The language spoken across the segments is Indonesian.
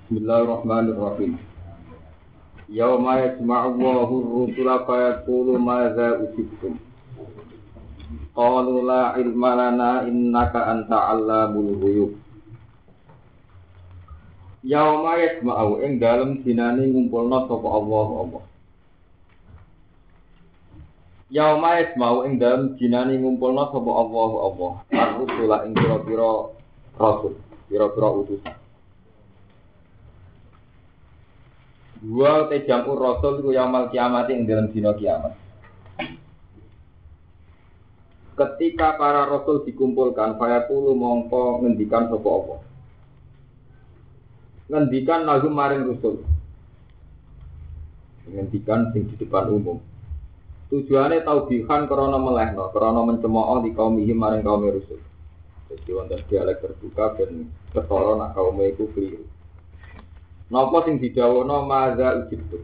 Bismillahirrahmanirrahim. Yauma yajma'u Allahu ar-rusula fa yaqulu madza ujibtum. Qalu la ilma lana innaka anta 'allamul ghuyub. Yauma yajma'u ing dalem dinane ngumpulna sapa Allah. Yauma yajma'u ing dalem dinane ngumpulna sapa Allah. Ar-rusula ing pira-pira rasul, pira-pira utusan. Dua jampur rasul ku yaumul kiamat ing dalam dina kiamat. Ketika para rasul dikumpulkan, fayaqulu mongko ngendikan sapa Allah. Ngendikan lagu maring rasul. Ngendikan sing di depan umum. Tujuane taubihan krana melehno, krana mencemooh di kaum iki maring kaum rasul. Jadi wonten dialek terbuka ben ketara nak kaum iku kliru. Napa sing didhawuhna maza ujibtum.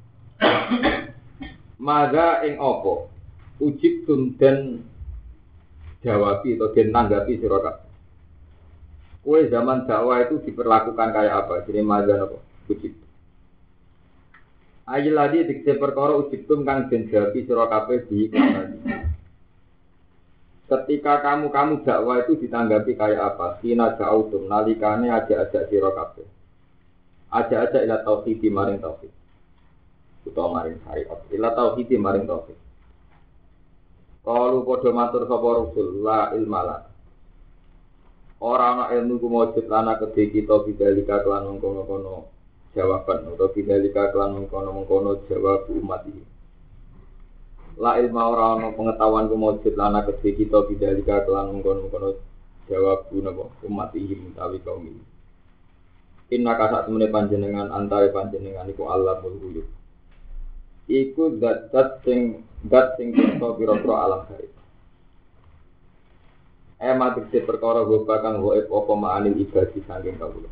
Maza ing apa? Ujibtum den jawabi atau den tanggapi sira kabeh. Kowe zaman dakwah itu diperlakukan kayak apa? Jadi maza napa? Ujibtum. Ayil ladi dikse perkara ujibtum kang den jawabi sira kabeh di ketika kamu dakwah itu ditanggapi kayak apa? Sina ja'utum nalikane ajak-ajak sira kabeh. Aja-aja ila tauhid maring tauhid. Utawa maring syariat. Ila tauhid maring tauhid. Qalu padha matur sapa Rasul la ilmala. Ora ana ilmu ku mujud lana kedhe kita bidalika kelan mengkono-kono jawaban utawa bidalika kelan mengkono-mengkono jawab umat iki. La ilma ora ana pengetahuan ku mujud lana kedhe kita bidalika kelan mengkono-kono jawab umat iki utawi kaum iki. Inna kasak temene panjenengan antare panjenengan iku Allah mulhuyub. Iku dat sing kita pira-pira alam gaib. Matik se perkara goba kang gaib apa ma'anil ibadi saking kawula.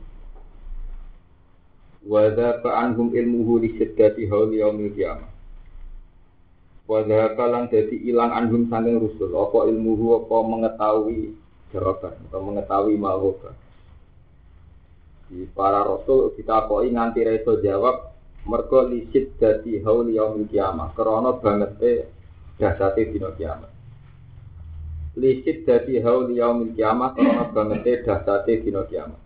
Wa dza anhum ilmuhu li syiddati hauli yaumil qiyamah. Wa dza kalang dadi ilang anhum saking rusul apa ilmuhu apa mengetahui jawaban atau mengetahui ma'rufah. Di para rasul kita koi nganti reso jawab mergo lisit dadi haul yaumil kiamah krana bangete dahsate dina kiamat. Lisit dadi haul yaumil kiamah krana bangete dahsate dina kiamat.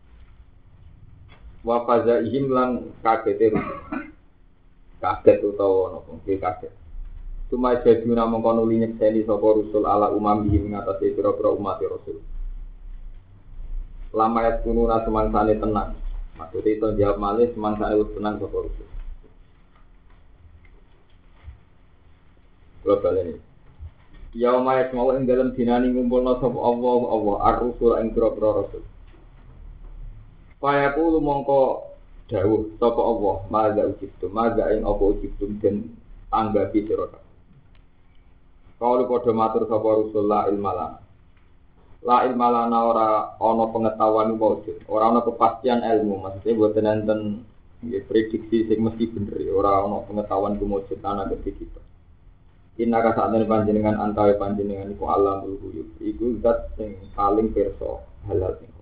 Wa fazaihim lan kagete kaget utawa napa kaget. Cuma jadi namung kono nyekseni sapa rasul ala umam iki ngatasi pira-pira umat rasul. Lama ya kununa semangsane tenang. Maksudnya itu jawab malih semangsane wis tenang sapa rusuh. Global ini. Yauma yasma'u ing dalem dinani ngumpulna sapa Allah ar-rusul ing pira-pira rasul. Fayaqulu mongko dawuh sapa Allah, maza ujibtum, maza ing apa ujibtum den anggapi sira kabeh. Kalu padha matur sapa rusul la ilmalana. La ilmalana ora ana pengetahuan wujud, ora ana kepastian ilmu, maksudnya boten enten prediksi sing mesti bener, ora ana pengetahuan wujud ana kedhi kita. Inna ka sakjane panjenengan antawe panjenengan iku alamul ghuyub, iku zat sing paling pirsa halal sing.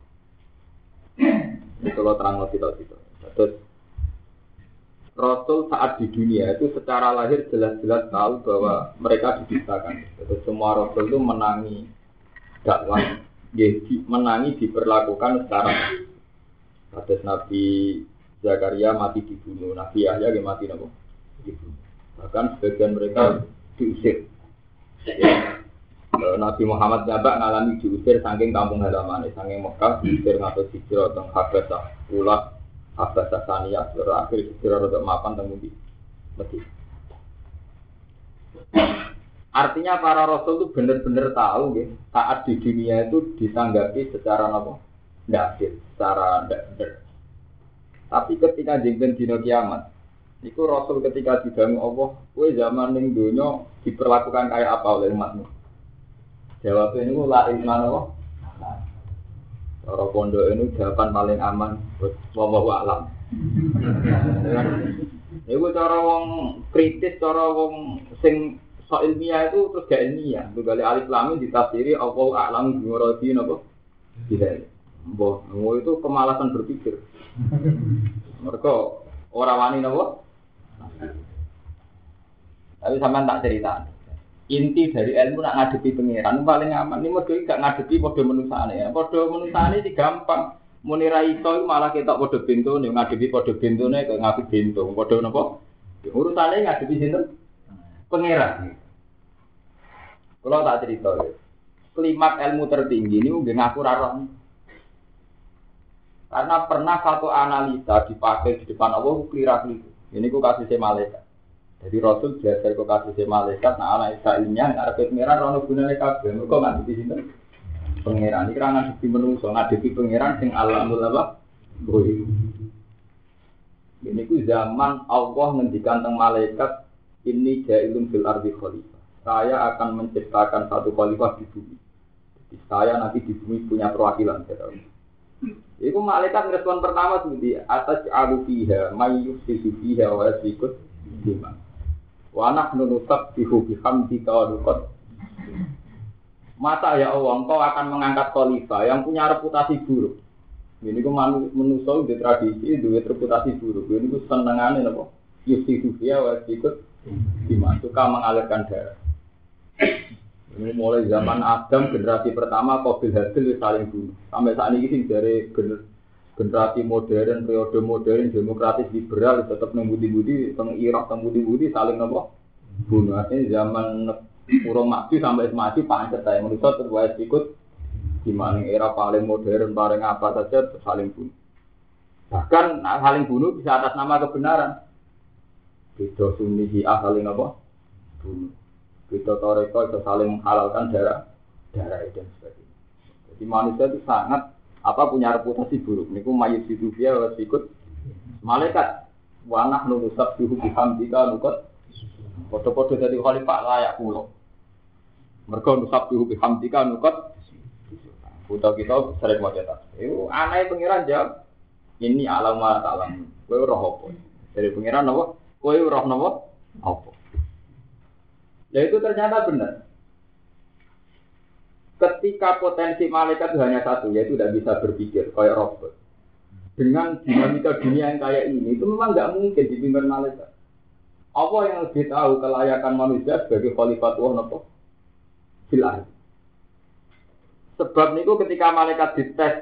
Kalau terang kita. Terus Rasul saat di dunia itu secara lahir jelas-jelas tahu bahwa mereka diciptakan. Terus semua Rasul itu menangi dakwah, menangi diperlakukan secara kados Nabi Zakaria mati dibunuh, Nabi Yahya mati dibunuh. Bahkan sebagian mereka diusir. Nabi Muhammad Jabak ngalami diusir saking kampung halaman, saking Mekah diusir ngatus hijrah teng Habasah, Ulak, Habasah Saniyah, terakhir hijrah untuk mapan teng Medina. Artinya para rasul itu benar-benar tahu saat di dunia itu ditanggapi secara apa? Tidak adil, secara tidak benar. Tapi ketika jengken dina kiamat, itu rasul ketika didangu Allah, kowe zaman ning donya diperlakukan kayak apa oleh umatmu? Jawabnya ini la ilma Allah. Cara pondok ini jawaban paling aman buat wallahu a'lam. Iku cara wong kritis, cara wong sing so ilmiah itu terus gak ilmiah. Tugale alif lam ditafsiri Allah a'lam bi muradi napa? Tidak. Mbah, itu kemalasan berpikir. Mereka orang wani napa? Tapi sampean tak cerita. Inti dari ilmu nak ngadepi pangeran paling aman. Ini model gak ngadepi padha menusane ya. Padha menusane iki gampang. Muni ra iso malah ketok padha bentone ngadepi padha bentone kok ngadepi bento. Padha napa? Urusane ngadepi sinten? Pangeran. Kalau tak cerita. Klimak ilmu tertinggi ini nggih ngaku ra roh. Karena pernah satu analisa dipakai di depan Allah keliru. Ini ku kasih malaikat. Jadi Rasul belajar ke kasih malaikat, nah analisa ilmiah, nggak ada pengiran, rono gunanya kabel. Mereka nggak di sini. Pengiran ini karena ngadepi menungso, ngadepi pengiran sing alamul apa? Boy. Ini ku zaman Allah ngendikan tentang malaikat ini jailun fil ardi khalifah. Saya akan menciptakan satu khalifah di bumi. Jadi saya nanti di bumi punya perwakilan. Itu malaikat respon pertama seperti atas alufiha, mayyusisu fiha wa yasikut lima. Wanak nunusab bihu bihamdika wa nuqad. Masa ya Allah, engkau akan mengangkat khalifah yang punya reputasi buruk. Ini ku manusia di tradisi, di reputasi buruk. Ini ku senengannya apa? Yusifu fiha wa yasikut lima. Suka mengalirkan darah. Ini mulai zaman Adam generasi pertama Qabil Habil saling bunuh. Sampai saat ini sih dari generasi modern, periode modern, demokratis liberal tetap nembudi-budi, pengirah nembudi-budi saling nopo bunuh. Artinya zaman urung maju sampai maju pancet saya manusia terbuat ikut gimana era paling modern, paling apa saja saling bunuh. Bahkan saling bunuh bisa atas nama kebenaran. Beda Sunni Syiah saling apa? Bunuh. Beda Toreko bisa saling menghalalkan darah dan sebagainya. Jadi manusia itu sangat punya reputasi buruk. Niku mayit sidufia harus ikut malaikat. Wanah nunusab bihu bihamdika nukot. Foto-foto dari khalifah layak pulau. Mereka nusab bihu bihamdika nukot. Foto kita sering mau cetak. Itu aneh pengiran jawab. Ini alam wa ta'lam. Kowe roh apa? Dari pengiran apa? Kowe roh apa? Apa? Ya itu ternyata benar. Ketika potensi malaikat itu hanya satu, yaitu tidak bisa berpikir kayak robot. Dengan dinamika dunia yang kayak ini, itu memang nggak mungkin dipimpin malaikat. Apa yang lebih tahu kelayakan manusia sebagai khalifatullah napa? Fil ardh. Sebab niku ketika malaikat dites,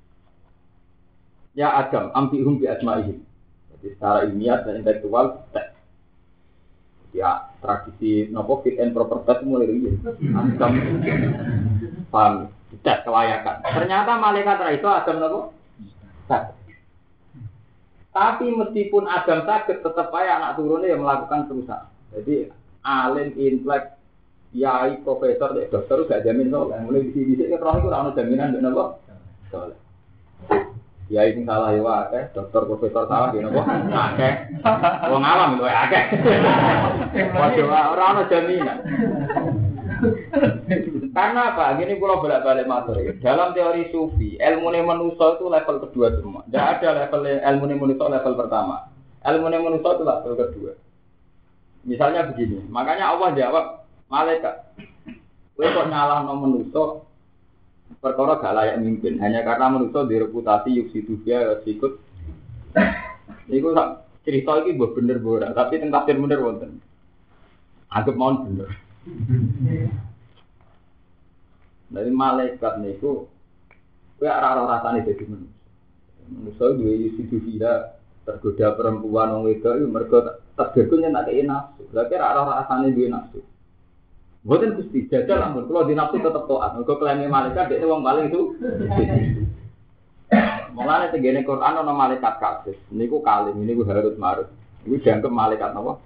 ya Adam, ambihum bi asma'ihim. Jadi secara ilmiah dan intelektual tes. Ya tradisi nopo fit and proper test mulai riyen. Adam paham tes kelayakan. Ternyata malaikat ra iso Adam nopo? Tes. Tapi meskipun Adam sakit tetap aja anak turunnya yang melakukan perusahaan. Jadi alim intelek yai profesor dokter gak jamin soleh. Mulai di sini kan roh itu ora ono jaminan ndek nopo? Soleh. Ya ini salah ya akeh, dokter profesor salah ya napa? Akeh. Wong alam itu akeh. Waduh ora ono jaminan. Karena apa? Gini kula bolak-balik matur ya. Dalam teori sufi, ilmune manusia itu level kedua semua. Tidak ada level ilmune manusia level pertama. Ilmune manusia itu level kedua. Misalnya begini, makanya Allah jawab malaikat. Kowe kok nyalahno manusia perkara gak layak mimpin hanya karena manusia direputasi yuksidufia sikut. Niku cerita iki mbok bener ora, tapi teng tafsir bener wonten. Anggap mawon bener. Dari malaikat niku kowe ora rasane dadi manusia. Manusia duwe yuksidufia tergoda perempuan wong wedok iku mergo tergoda nyentak nafsu. Lha kira ora rasane duwe nafsu. Boten Gusti, jajal ampun kula di nafsu tetep taat. Mergo klaime malaikat dhek wong paling itu. Mulane tegene Quran ana malaikat kasih. Niku kalim, niku harus marut. Niku dianggap malaikat napa?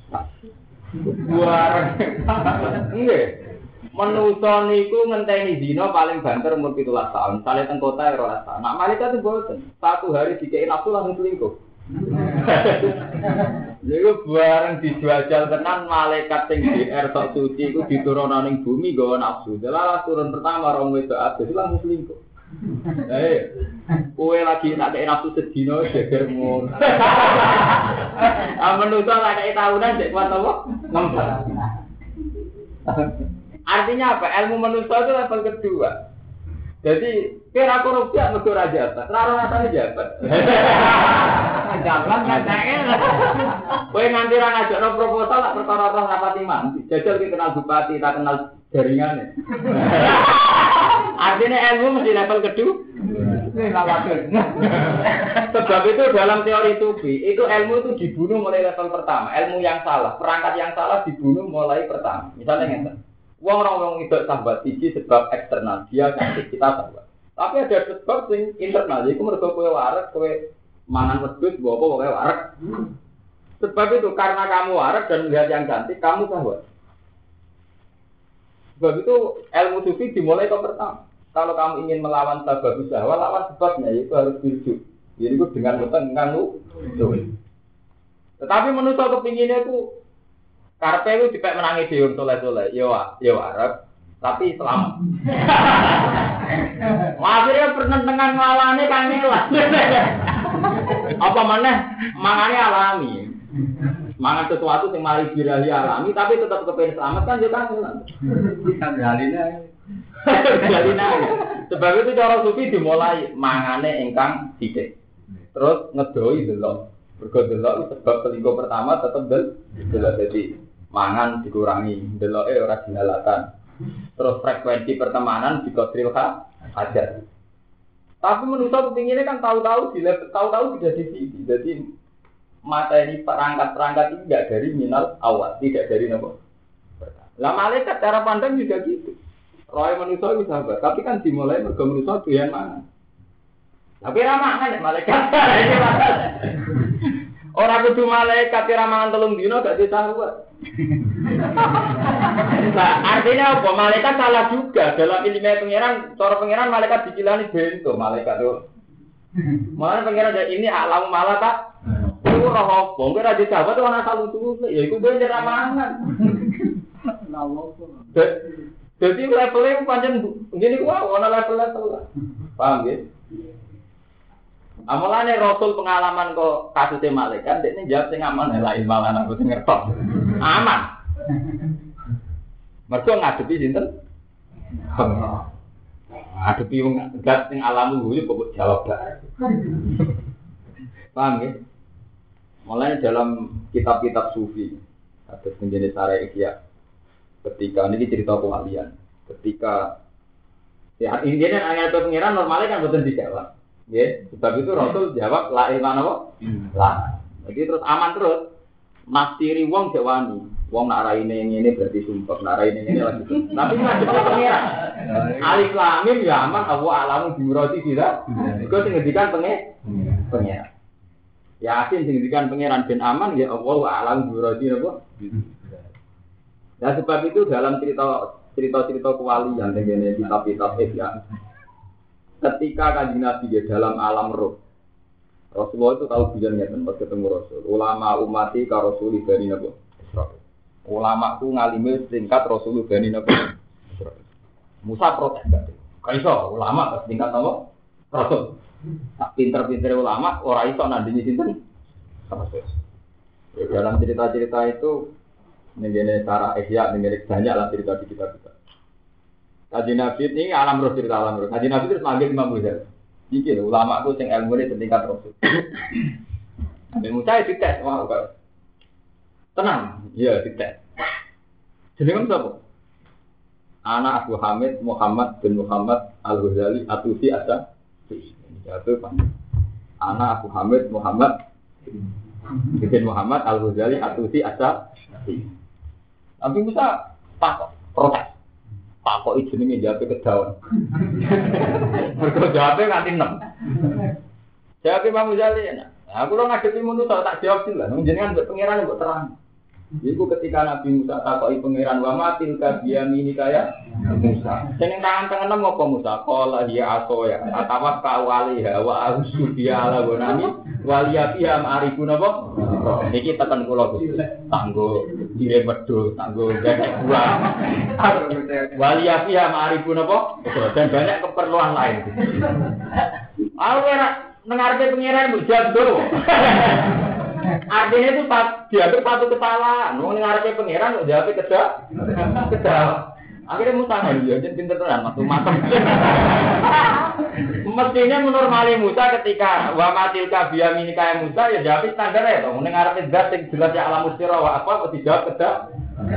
Buar. Nggih. Manusa niku ngenteni dina paling banter umur 17 tahun. Sale teng kota 12 tahun. Nak malaikat itu boten. Satu hari dikei nafsu langsung selingkuh. Niku bareng dijajal tenan malaikat sing DR sok suci iku diturunna ning bumi nggawa nafsu. Delalah turun pertama rong wedok abis langsung selingkuh. Kowe lagi nak kei nafsu sedina geger ngono. Manusa lak kei tahunan sik kuat apa? Ngempet. Artinya apa? Ilmu manusia itu level kedua. Jadi kira korupsi mergo ora jabat, ora rasane jabat. Jalan ngajake. Kowe nganti ra ngajakno proposal lak perkara roh rapati mandi. Jajal ki kenal bupati, tak kenal jaringane. Artinya ilmu mesti level kedua. Sebab itu dalam teori sufi, itu ilmu itu dibunuh mulai level pertama. Ilmu yang salah, perangkat yang salah dibunuh mulai pertama. Misalnya ngeten. Wong itu sahabat siji sebab eksternal, dia kasih kita sahabat. Tapi ada sebab yang internal, yaitu mergo kowe waras, kowe mangan wedhus, mbok apa kowe waras. Sebab itu karena kamu waras dan melihat yang cantik, kamu sahabat. Sebab itu ilmu sufi dimulai ke pertama. Kalau kamu ingin melawan sebab usaha, lawan sebabnya, yaitu harus berjuk. Jadi itu dengan bertengkar Tetapi menurut kepinginnya itu karpe itu dipek menangi diun soleh-soleh, ya Arab, tapi selamat. Akhirnya penentangan nglawane kangelan. Apa maneh mangane alami. Mangan sesuatu yang mari birahi alami, tapi tetap kepengen selamat kan juga kangelan. Galina. Sebab itu cara sufi dimulai mangane ingkang sithik. Terus ngedoi delok. Mergo delok sebab selingkuh pertama tetap delok. Jadi mangan dikurangi, deloke ora dihalatan. Terus frekuensi pertemanan dikodril hajar. Tapi menurut kepinginnya kan tahu-tahu tidak di sini. Jadi materi perangkat-perangkat ini tidak dari minal awal, tidak dari nopo. Lah malaikat cara pandang juga gitu. Roy manusia itu sahabat, tapi kan dimulai mergo manusia doyan mangan. Tapi ramangan ya malaikat. Orang kudu malaikat ramangan 3 dino gak disahabat. Nah, artinya apa? Malaikat salah juga dalam ilmu pengiran. Cara pengiran malaikat dikilani bento malaikat itu. Malah pengiran ini alam malaikat. Itu roh apa? Mungkin ada sahabat itu ana salutu. Ya iku bener ramangan. Jadi levelnya pancen ngene ku ana level-level. Paham ya? Amalane Rasul pengalaman kok kasusnya malaikat, dia jawab sing aman lain malah aku sing ngertos. Aman. Mergo ngadepi sinten? Ngadepi wong zat sing alam guyu kok jawab bae. Paham ya? Mulai dalam kitab-kitab sufi ada penjenis syariah Ihya. Ketika ini cerita kewalian. Ketika ya intinya ayat pengiran normalnya kan boten dijawab. Ya, sebab itu Rasul jawab la ilaha apa? La. Jadi terus aman terus. Nastiri wong jawani. Wong nak raine ngene berarti sumpah, nak raine ngene lagi. Tapi ngadep pengiran. Alif lam mim ya aman Allah alamu bimurati tidak. Iku sing ngendikan pengiran. Yasin sing ngendikan pengiran ben aman ya Allah alamu bimurati napa? Ya sebab itu dalam cerita kewalian dengan kitab-kitab ya. Ketika Kanjeng Nabi di dalam alam roh, Rasulullah itu tahu bilannya tempat ketemu Rasul. Ulama umati ka Rasul bani Nabi Israil. Ulama ku ngalime tingkat Rasul bani Nabi Israil. Musa protes gak? Kaiso ulama tingkat apa? Rasul. Tak pinter-pinter ulama ora iso nandingi sinten? Rasul. Dalam cerita-cerita itu ngene cara ihya ngene banyak lah cerita di kitab-kitab. Kanjeng Nabi ini alam roh cerita alam roh. Kanjeng Nabi terus manggil Imam Ghazali. Iki lho ulama ku sing ilmune setingkat Rasul. Nabi Musa dites, wah kok. Tenang, iya dites. Jenenge sapa? Anak Abu Hamid Muhammad bin Muhammad Al-Ghazali Atusi Asa. Jatuh Pak. Anak Abu Hamid Muhammad bin Muhammad Al-Ghazali Atusi Asa. Nabi Musa takut, protes. Takut itu jenenge jawabe kedawan. Mergo jawabe nganti 6. Jawab Imam Ghazali enak. Aku lo ngadepi manusa tak jawab sih lah. Jenengan mbek pangeran mbok terang. Iku ketika Nabi Musa takoki pangeran wa matil ka biyamini kaya Musa. Jeneng tangan tangan apa Musa? Qala ya aso ya. Atawak ka waliha wa ausubiya ala gonami waliyatiha ma'arifun apa? Iki tekan kula Gusti. Tanggo dire wedhus, tanggo gak buah. Waliyatiha ma'arifun apa? Dan banyak keperluan lain. Aku ora nengarpe pangeran mbok jawab. Artinya itu diambil satu kesalahan. Mau ngarepin pangeran, mau jawabnya kedah. Akhirnya Musa kan dia jadi pinter tenan matang. Mestinya menormali Musa ketika wa matilka biyaminika Musa ya jawab standar ya to. Ning arepe zat sing jelas ya alam mustira wa apa dijawab kedak.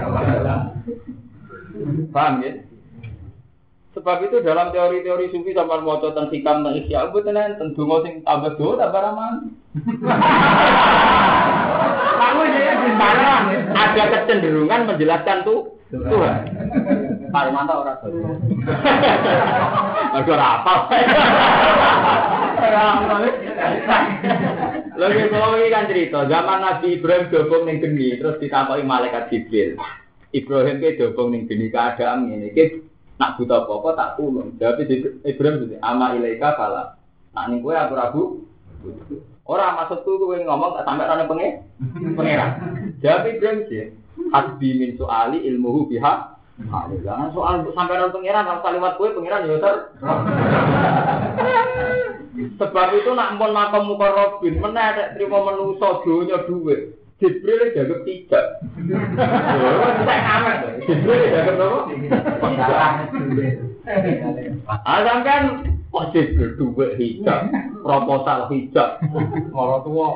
Paham ya? Sebab itu dalam teori-teori sufi sampean maca teng hikam teng ihya mboten enten donga sing tambah do tambah raman. Kamu ya di mana ada kecenderungan menjelaskan tuh Tuhan. Pak mantap ora to. Mergo ora apa. Lagi kalau ini kan cerita zaman Nabi Ibrahim dobong ning geni terus ditakoki malaikat Jibril. Ibrahim ke dobong ning geni keadaan ngene iki nak buta apa tak tulung. Jawab Ibrahim ama ilaika fala. Nak ning kowe aku rabu. Ora maksudku kowe ngomong tak sampe ana pangeran. Jawab Ibrahim sih. Hasbi min soali ilmuhu biha. Jangan soal sampai nang pangeran kalau kalimat kowe pangeran ya ter. Sebab itu nak mun makom mukarrabin meneh nek trimo menungso donya dhuwit. Jibril dianggap tidak. Saya amat. Jibril dianggap apa? Kan kok Jibril dhuwit hijab, proposal hijab. Ora tuwa.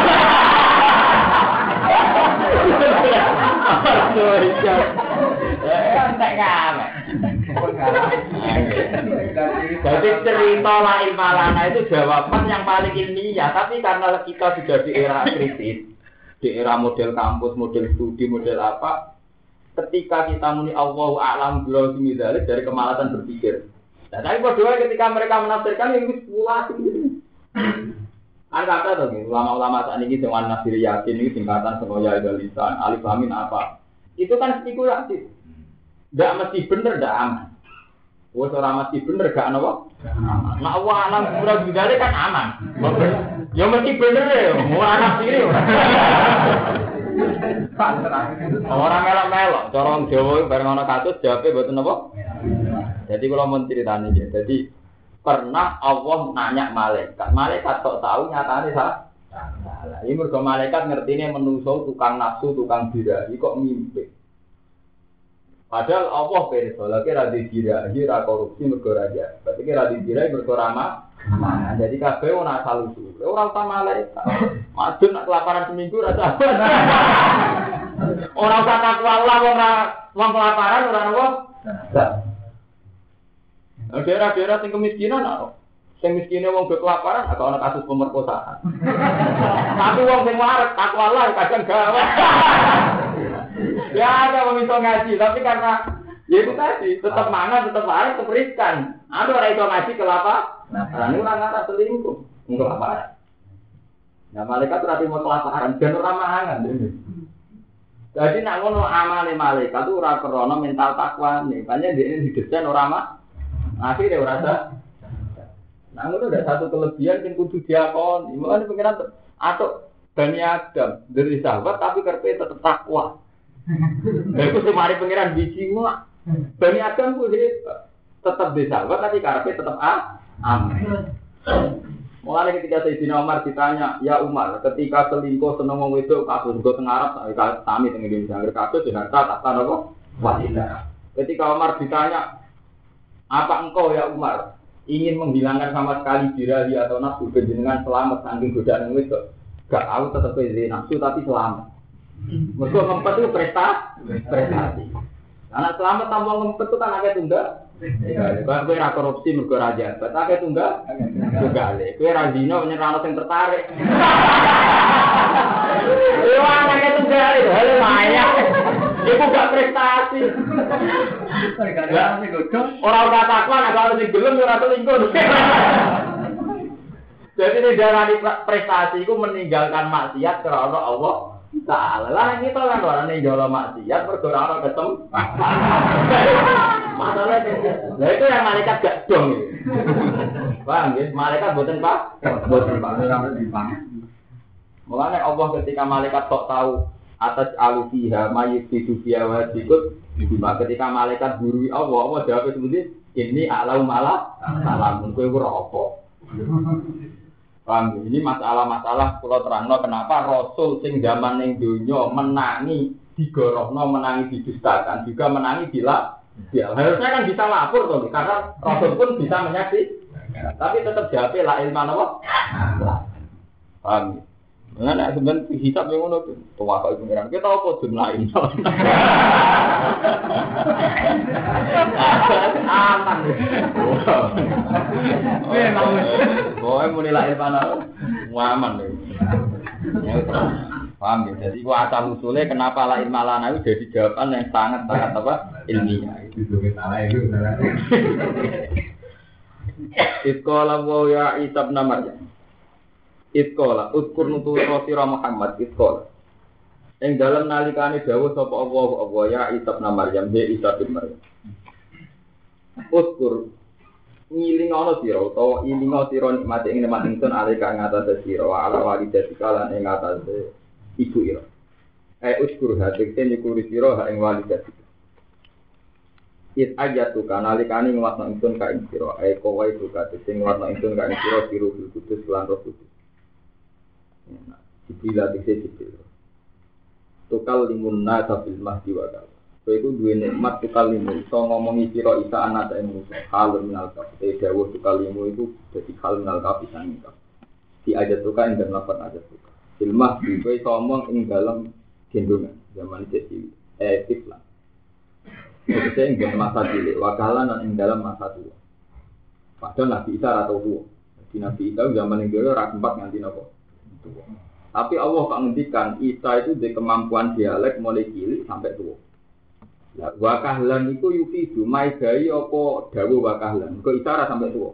Entek kae. Jadi cerita la ilmalana itu jawaban yang paling ilmiah, tapi karena kita sudah di era kritis, di era model kampus, model studi, model apa, ketika kita muni Allahu a'lam billahimidalik dari kemalasan berpikir. Nah, tapi berdua ketika mereka menafsirkan yang spekulasi gitu. Kan kata tuh, ulama-ulama saat ini dengan Nasir Yasin ini singkatan semuanya ada lisan, alif amin apa. Itu kan spekulasi. Tidak mesti benar, tidak aman. Wah, orang mesti benar, tidak apa? Nah, Allah alam surah bidari kan aman. Ya mesti benar ya, mau anak sendiri. Orang melok-melok, corong Jawa bareng ana kasus jawabnya betul apa? Jadi kalau mau ceritanya aja, jadi pernah Allah nanya malaikat kok tahu nyatanya salah. Ini mergo malaikat ngertine menungso tukang nafsu, tukang birahi kok mimpi. Padahal Allah pirsa, lagi ra dibirahi, ra korupsi mergo raja. Berarti ra dibirahi mergo ramah. Nah, jadi kabeh ora asal usul. Ora usah malaikat. Madun nak kelaparan seminggu ra sabar. Ora usah takwa Allah wong kelaparan ora napa? Daerah-daerah sing kemiskinan sing miskine wong kelaparan atau ana kasus pemerkosaan. Tapi wong sing waras takwa Allah kadang gawe. Ya ada wong iso ngaji, tapi karena ya itu tadi tetap mangan, tetap waras, tetap riskan. Ada orang iso ngaji kelaparan. Nah, ini orang ngarah selingkuh, kelaparan. Nah, malaikat berarti mau kelaparan dan ora mangan. Jadi nak ngono amale malaikat itu ora krana mental takwa nih. Makanya dia didesain ora mah. Akhirnya ora ada. Nah, itu ada satu kelebihan yang kudu diakoni. Mulane pengiran atau Bani Adam dari sahabat tapi kerpe tetap takwa. Itu semari pengiran biji mah. Bani Adam ku tetap di sahabat tapi karpe tetap aman. Mulane ketika Sayyidina Umar ditanya, "Ya Umar, ketika selingkuh seneng wong wedok kasus go teng Arab sami teng Indonesia, kasus dengan harta tak apa? Wanita." Ketika Umar ditanya, "Apa engkau ya Umar ingin menghilangkan sama sekali birahi atau nafsu dengan selamat saking godaan wedok?" Gak tahu tetap beda nafsu tapi selamat. Mergo ngempet itu prestasi. Karena selamat tanpa ngempet itu kan agak tunggal. Kalau kowe ra korupsi mergo ra jabat, agak tunggal. Tunggale. Kowe ra zina nyerano sing tertarik. Wah, agak tunggal itu hale maya. Iku gak prestasi. Ora ora takwa nek kalau sing gelem ora selingkuh. Jadi ini darah prestasi itu meninggalkan maksiat karena Allah Ta'ala. Lah kita kan orang ninggal maksiat berdoa ketemu. Masalahnya, nah itu yang malaikat gak dong. Paham ya? Malaikat buatan pak? Buatan pak. Mulanya Allah ketika malaikat tak tahu atas alufiha mayit hidupia wajibut. Ketika malaikat gurui Allah jawab seperti ini alau malah salam. Mungkin itu rokok. Paham, ini masalah-masalah kalau terangno kenapa Rasul sing zaman ning donya menangi digorohno, menangi didustakan, juga menangi Ya, harusnya kan bisa lapor toh, karena Rasul pun bisa menyaksikan. Tapi tetap jawabnya la ilma apa? Paham? Nah, sebenarnya hisab yang ngono tuh, tua kok pengiran. Kita apa dun lain? Aman. Boy muni la ilma aman deh. Paham ya? Jadi gua asal usulnya kenapa la ilma lana itu jadi jawaban yang sangat apa? Ilmiah. Itu salah itu salah. Iskola wa ya Isa bin Maryam. Iskola uskur nutu sira Muhammad iskola. Ing dalem nalikane dawuh sapa Allah ya Isa bin Maryam, he Isa bin Maryam. Uskur ngiling ana sira utawa ilinga sira nikmate ing nikmat ingsun alika ngatas sira wa ala walidatika lan ing ngatas ibu ira. Uskur hati ten nyukuri sira ha ing walidatika. It ajatu kanalikane ngwasno ingsun ka ing sira kowe buka sing ngwasno ingsun ka ing sira biru kudus lan roh kudus. Jibril dikse Jibril. Tukal limun nasa fil mahdi wa kal. Kowe iku duwe nikmat tukal limun iso ngomongi sira isa anak ing manusa. Hal minal kaf. Dawuh tukal limun iku dadi hal minal kaf sang kaf. Di ajat tukal ing dalem lafaz ajat tukal. Fil mahdi kowe iso ngomong ing dalem gendongan zaman jadi Islam. Maksudnya yang dalam masa cilik, wakalan dan yang dalam masa tua. Padahal Nabi Isa atau tua. Di Nabi Isa zaman yang dulu sempat nganti nopo tua. Tapi Allah tak ngendikan Isa itu di kemampuan dialek mulai cilik sampai tua. Nah, wakahlan itu yufidu maidai apa dawu wakahlan. Kok Isa sampai tua.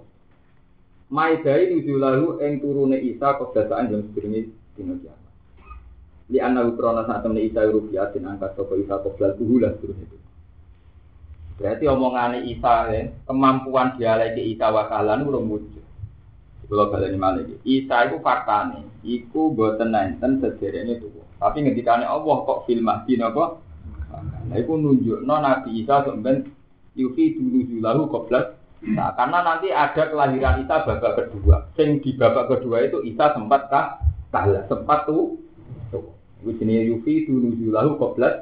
Maidai nujulahu yang turune Isa kebiasaan yang sebelumnya dino kiamat. Li anna ukrona saat temen Isa rupiatin angkat sopo Isa koblal tuhulah terus itu. Berarti omongan Isa kemampuan dialek Isa wakalan urung wujud. Kalau baleni malih Isa itu faktane, iku boten nenten sederene tuwa. Tapi ngendikane Allah kok fil mahdi napa? Nah iku nunjukno Nabi Isa sampeyan yufi dulu lahu qoblat. Nah, karena nanti ada kelahiran Isa babak kedua. Sing di babak kedua itu Isa sempat kalah, sempat tuh. Iku jenenge yufi dulu lahu qoblat.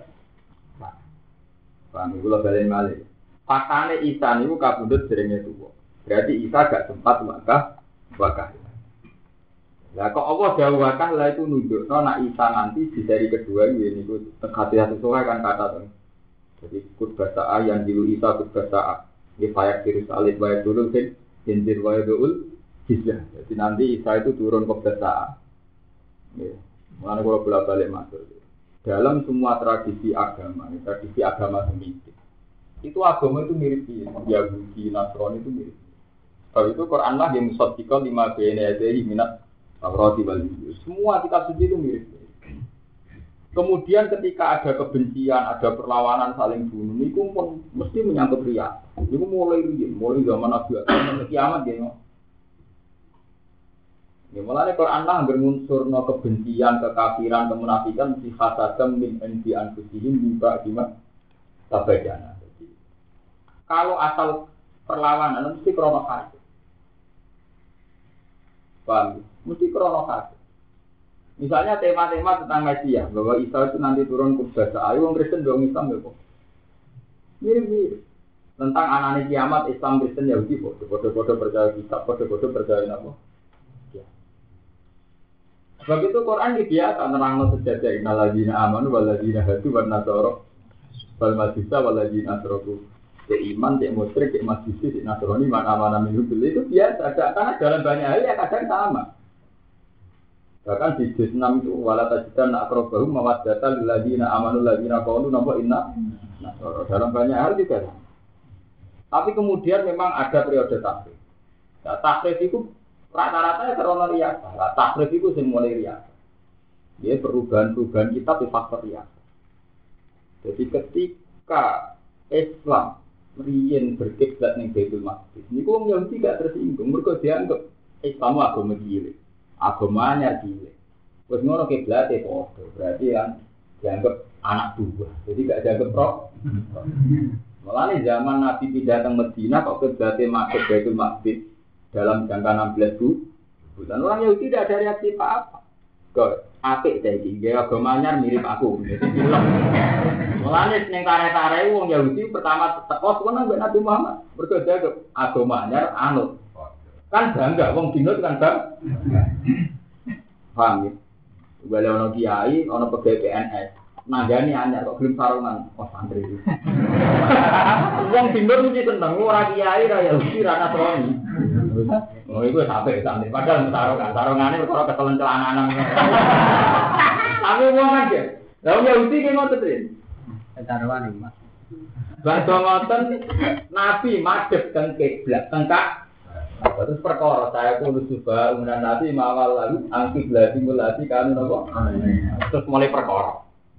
Paham kula balen malih. Faktane Isa niku kabundut derenge tuwa. Berarti Isa gak sempat wakah. Lah kok Allah dawuh wakah lah itu nunjukno nek Isa nanti di seri kedua iki niku hati-hati sesuai kan kata to. Jadi kut bahasa yang dilu Isa kut bahasa di fayak virus alif wa dulu sing injil wa dul jizah. Jadi nanti Isa itu turun ke bahasa. Nggih. Mulane kula bolak-balik matur. Dalam semua tradisi agama Semitik, itu agama itu mirip Yahudi, Nasrani itu mirip. Kalau itu Quran lah yang musaddiqan lima bayna yadayhi minat Taurat wal Injil. Semua kitab suci itu mirip. Kemudian ketika ada kebencian, ada perlawanan saling bunuh, itu mesti menyangkut riya. Itu mulai zaman Nabi sampai kiamat ya. Ya mulane Quran lah bermunsurno kebencian, kekafiran, kemunafikan si hasadam min endi anfusihim juga gimana tabajana. Kalau asal perlawanan mesti krono kasih. Paham? Mesti krono kasih. Misalnya tema-tema tentang Mesias, bahwa Isa itu nanti turun ke bahasa ayu, orang Kristen dong Islam ya kok. Mirip-mirip. Tentang anane kiamat Islam Kristen Yahudi bodoh-bodoh percaya kitab, bodoh-bodoh percaya apa? Sebab itu Quran biasa nerangno sejadah innalladzina amanu walladzina hadu wan nasara wal majusa walladzina asyraku. Iman, musyrik, majusi, nasrani mana-mana minum itu biasa. Karena dalam banyak hal yang kadang sama. Bahkan di juz 6 itu wala tajidan aqrabahum mawaddatan lil ladzina amanu ladzina qalu napa inna nasara. Dalam banyak hal juga. Tapi kemudian memang ada periode tahrif. Nah, tahrif itu rata-rata ya karena riasa. Tahrif itu sing mulai riasa. Dia perubahan-perubahan kitab di faktor riasa. Jadi ketika Islam riyen berkiblat ning Baitul Maqdis, niku wong Yahudi gak tersinggung, mergo dianggap Islam agama cilik. Agamanya cilik. Wes ngono kiblate padha. Berarti kan dianggap anak buah. Jadi gak dianggap roh. Mulane zaman Nabi pindah ke Madinah kok kiblate masuk Baitul Maqdis dalam jangka 16 bulan orang Yahudi tidak ada reaksi apa-apa. apik ta iki, nggih agama anyar mirip aku. Mulane ning tare-tare wong Yahudi pertama teko kono mbek Nabi Muhammad. Mergo dia agama anyar anut. Kan bangga wong dinut kan bang. Paham ya? Bale ono kiai, ono pegawai PNS. Nanggani anyar kok gelem sarungan. Oh santri iki. Wong dinut mesti seneng ora kiai ra Yahudi ra Nasrani. Oh iku sampe santri padahal sarungane perkara ketelen celananan. Tapi wong kan ya. Lah Yahudi ki ngoten iki. Taruhan iki, Mas. Bangsa ngoten Nabi madhep teng kiblat tengkak. Terus perkara saya kudu coba umuran Nabi mawal lalu angkib lati kanu napa? Terus mulai perkara.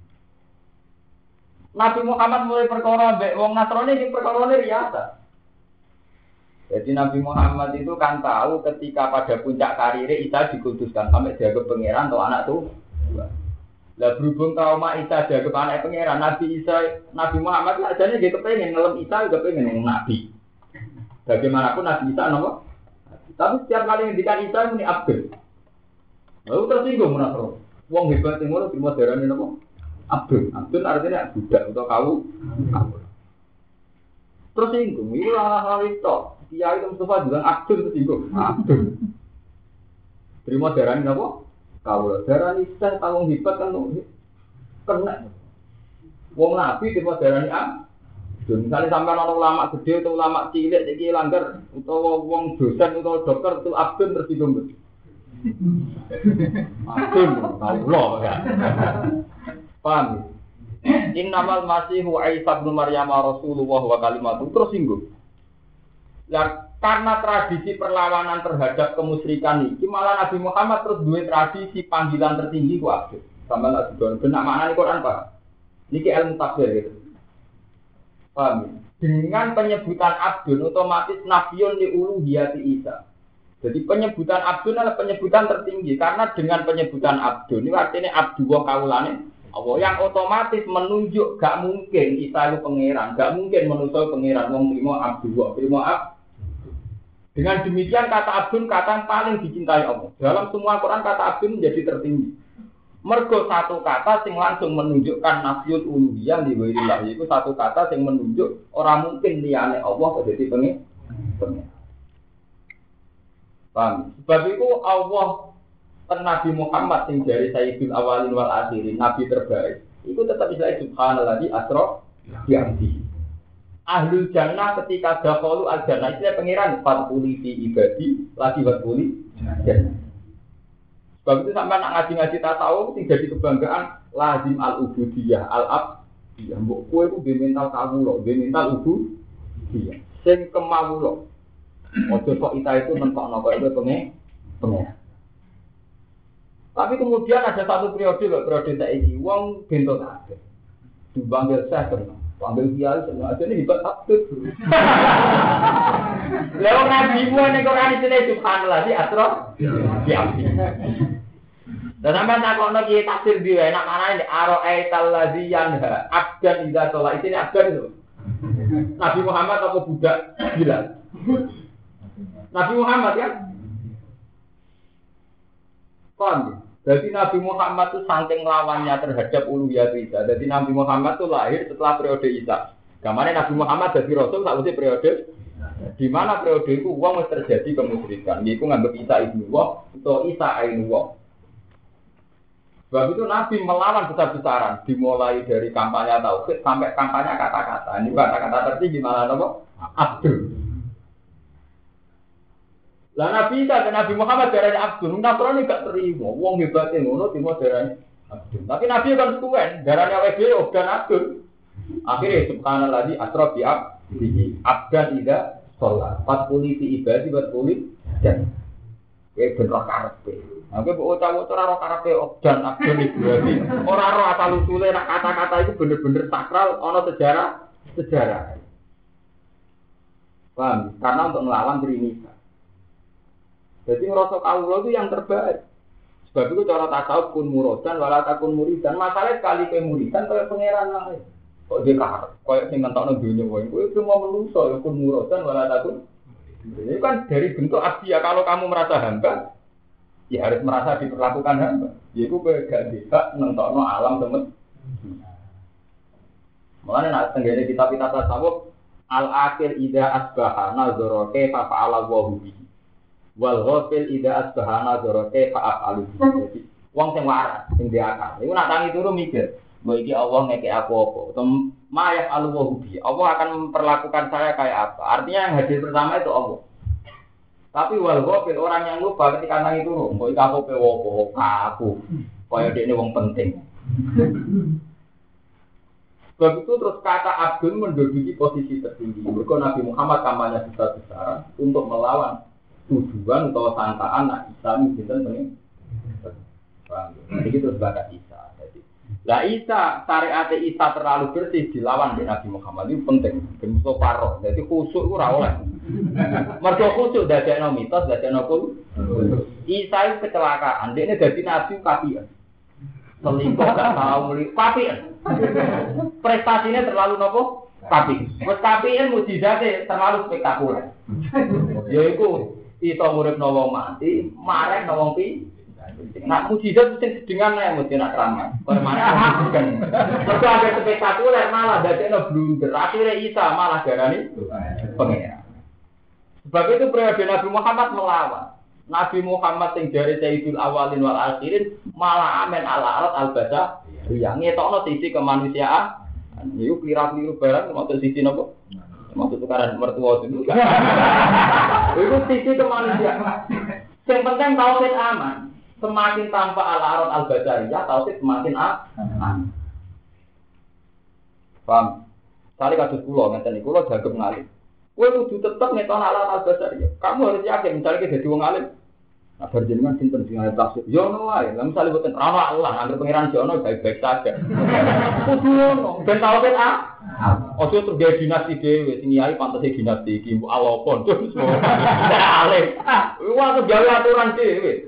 Nabi Muhammad mulai perkara mbek wong Nasrani iki perkarane riasa. Jadi Nabi Muhammad itu kan tahu ketika pada puncak karirnya Isa dikuduskan sampai dianggap pangeran atau anak tuh. Lah berhubung trauma Isa dianggap anak pangeran, Nabi Muhammad ajane dia kepengen ngelem Isa juga pengen nabi. Bagaimanapun Nabi Isa napa? Tapi setiap kali ngendikan Isa muni Abdul. Lalu tersinggung Nasrani. Wong hebat sing ngono terima darane napa? Abdul artinya budak atau kau. Terus singgung, itu hal itu. Kiai Mustafa bilang Abdul tersinggung. Abdul. Terima darah ini apa? Kau darah ini saya tanggung hebat kan kena. Wong Nabi terima darah ini Abdul. Misalnya sampai orang ulama gede atau ulama cilik jadi langgar atau wong dosen atau dokter itu Abdul tersinggung. Abdul, tahu loh ya. Paham? Innamal masihu Isa bin Maryam Rasulullah wa kalimatuh terus singgung. Lah karena tradisi perlawanan terhadap kemusyrikan iki malah Nabi Muhammad terus duwe tradisi panggilan tertinggi ku Abdul. Sama lah sudah benak maknane Quran Pak. Niki ilmu tafsir gitu. Paham? Dengan penyebutan Abdul otomatis nafiyun li uluhiyati Isa. Jadi penyebutan Abdul adalah penyebutan tertinggi karena dengan penyebutan Abdul ini artinya Abdullah kaulane Allah yang otomatis menunjuk gak mungkin Isa itu pangeran, gak mungkin manusia pangeran wong trimo Abdullah, trimo Dengan demikian kata Abdul kata yang paling dicintai Allah. Dalam semua Quran kata Abdul menjadi tertinggi. Mergo satu kata sing langsung menunjukkan nafiyul uluhiyah li ghairillah, yaitu satu kata sing menunjuk orang mungkin liyane Allah kok dadi pangeran. Paham? Sebab itu Allah Nabi Muhammad yang dari Sayyidul Awalin wal Akhirin, Nabi terbaik. Itu tetap bisa subhanalladzi asra bi abdihi. Ahlul jannah ketika dakhalu al-jannah itu pangeran fatuli fi ibadi lagi fatuli jannah. Sebab itu sampai nak ngaji-ngaji tasawuf sing jadi kebanggaan lazim al-ubudiyah al-abdiyah. Mbok kowe ku mental kawula, mental ubudiyah. Sing kemawula. Ojo kok itu mentokno kok itu pengen. Tapi kemudian ada satu periode saiki wong bento kabeh. Dipanggil saya tenang, panggil kiai tenang aja ini hebat abdul. Lah nabi mu nek ora dene subhanallah di asra. Diam. Dan sampeyan takokno kiai tafsir dhewe enak manane ara'aital ladzi yanha abdan idza sholat ini abdan itu. Nabi Muhammad apa budak bilang? Nabi Muhammad ya. Paham? Jadi Nabi Muhammad itu saking lawannya terhadap uluhiyah Isa. Jadi Nabi Muhammad itu lahir setelah periode Isa. Kemarin Nabi Muhammad jadi Rasul tak usah periode. Di mana periode itu uang terjadi kemusyrikan. Yaitu nganggap Isa ibnu Allah atau Isa ainu Allah. Sebab itu Nabi melawan besar-besaran. Dimulai dari kampanye tauhid sampai kampanye kata-kata. Ini kata-kata tertinggi malah apa? Abdul. Lah Nabi Isa dan Nabi Muhammad darane Abdul, Nasrani gak terima. Wong hebate ngono terima darane Abdul. Tapi Nabi kan suwen, darane awake dhewe dan Abdul. Akhirnya subhanallah asra bi abdihi abdan ida sholat. Fatuli fi ibadi fatuli dan bener karepe. Aku bocah-bocah ora karepe dan Abdul berarti ora ro asal usule nek kata-kata itu bener-bener sakral ana sejarah. Paham? Karena untuk melawan Trinita. Jadi ngerasa kawula itu yang terbaik. Sebab itu cara tasawuf kun muradan wala takun muridan. Masalah sekali ke muridan kaya pangeran lain. Kok dia kahar, kaya sing ngentokno donya wae. Kowe cuma manusa ya kun muradan wala takun. Ini kan dari bentuk abdi ya kalau kamu merasa hamba, Ya harus merasa diperlakukan hamba. Ya itu gak bisa nentokno alam temen. Mulane nek tenggene kitab-kitab tasawuf al-akhir ida asbaha nazara kaifa fa'ala wa bihi. Wal ghafil ida asbaha nazara kaifa af'alu. Jadi wong sing waras, sing diakal. Iku nak tangi turu mikir, mbok iki Allah ngekek aku apa? Utawa mayaf al-wa bihi. Allah akan memperlakukan saya kayak apa? Artinya yang hadir pertama itu Allah. Tapi wal ghafil orang yang lupa ketika tangi turu, mbok iki aku pe opo? Aku. Kaya dekne wong penting. Sebab itu terus kata Abdul menduduki posisi tertinggi. Mereka Nabi Muhammad kampanye besar-besaran untuk melawan tujuan atau sangkaan nak Islam itu penting. Jadi itu sebagai Isa. Lah Isa syariat Isa terlalu bersih dilawan di Nabi Muhammad itu penting. Bentuk parok. Jadi khusyuk itu rawol. Mergo khusyuk dadekno mitos, dadekno kul. Isa itu kecelakaan. Dia ini jadi Nabi kafian. Selingkuh gak tahu melihat kafian. Prestasinya terlalu nopo tapi meskipun mukjizatnya terlalu spektakuler. Yaiku iso nguripno wong mati, marek wong pi. Nak mukjizat mesti dengan ya mesti nak ramah. Permane kan. Mergo agak spektakuler malah dadekno blunder. Akhire Isa malah darani pengira. Sebab itu periode Nabi Muhammad melawan. Nabi Muhammad sing jare Sayyidul Awalin wal Akhirin malah amen ala al-basa. Yang ngetokno sisi kemanusiaan. Niku kira-kira barang maksud sisi napa? Maksud tukaran mertua itu. Itu sisi kemanusiaan. Yang penting tauhid aman. Semakin tanpa al-arad al-basariyah tauhid semakin aman. Paham? Kali kados kula ngeten niku kula jagep ngalih. Kowe kudu tetep ngetokno al-arad al-basariyah. Kamu harus yakin misalnya kita dadi wong alim. Nah, berjenengan sinten sing arep tafsir? Ya ono wae. Lah misale boten ana Allah, anggere pangeran jono baik-baik saja. Kudu ono, ben tau ben ojo terjadi dinasti dhewe, sing yai pantese dinasti iki mbok alopon terus. Alim. Wah, tuh gawe aturan dhewe.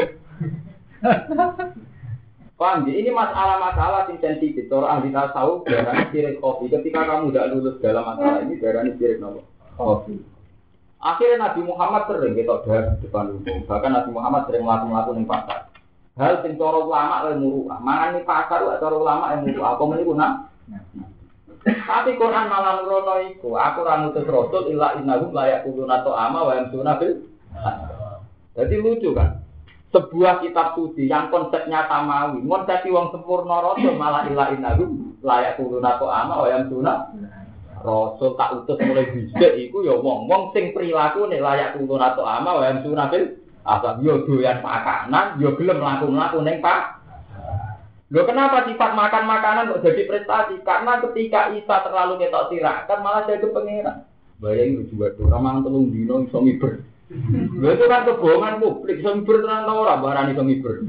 Paham ya? Ini masalah-masalah yang sensitif. Orang ahli tasawuf darahnya sirik kopi. Ketika kamu tidak lulus dalam masalah ini, darahnya sirik kopi. Akhirnya Nabi Muhammad sering kita bahas di depan umum. Bahkan Nabi Muhammad sering melakukan di pasar. Hal sing cara ulama ilmu muruah. Mangan di pasar cara ulama ilmu muruah. Apa meniku nak? Tapi Quran malah nurono iku. Aku ora ngutus rasul illa innahum la yaquluna ta'ama wa yamsuna bil. Jadi lucu kan? Sebuah kitab suci yang konsepnya samawi, konsep wong sempurna rasul malah illa innahum la yaquluna ta'ama wa yamsuna. Rasul tak utus mulai bisik iku ya wong-wong sing prilakune layak turun atau ama wae sunah bil asal yo doyan makanan yo gelem mlaku-mlaku ning Pak. Lho kenapa sifat makan makanan kok jadi prestasi? Karena ketika Isa terlalu ketok tirakan malah jadi pangeran. Bayangin juga tuh ramang telung dino iso miber. Lho itu kan kebohongan publik iso miber tenan ora barani iso miber.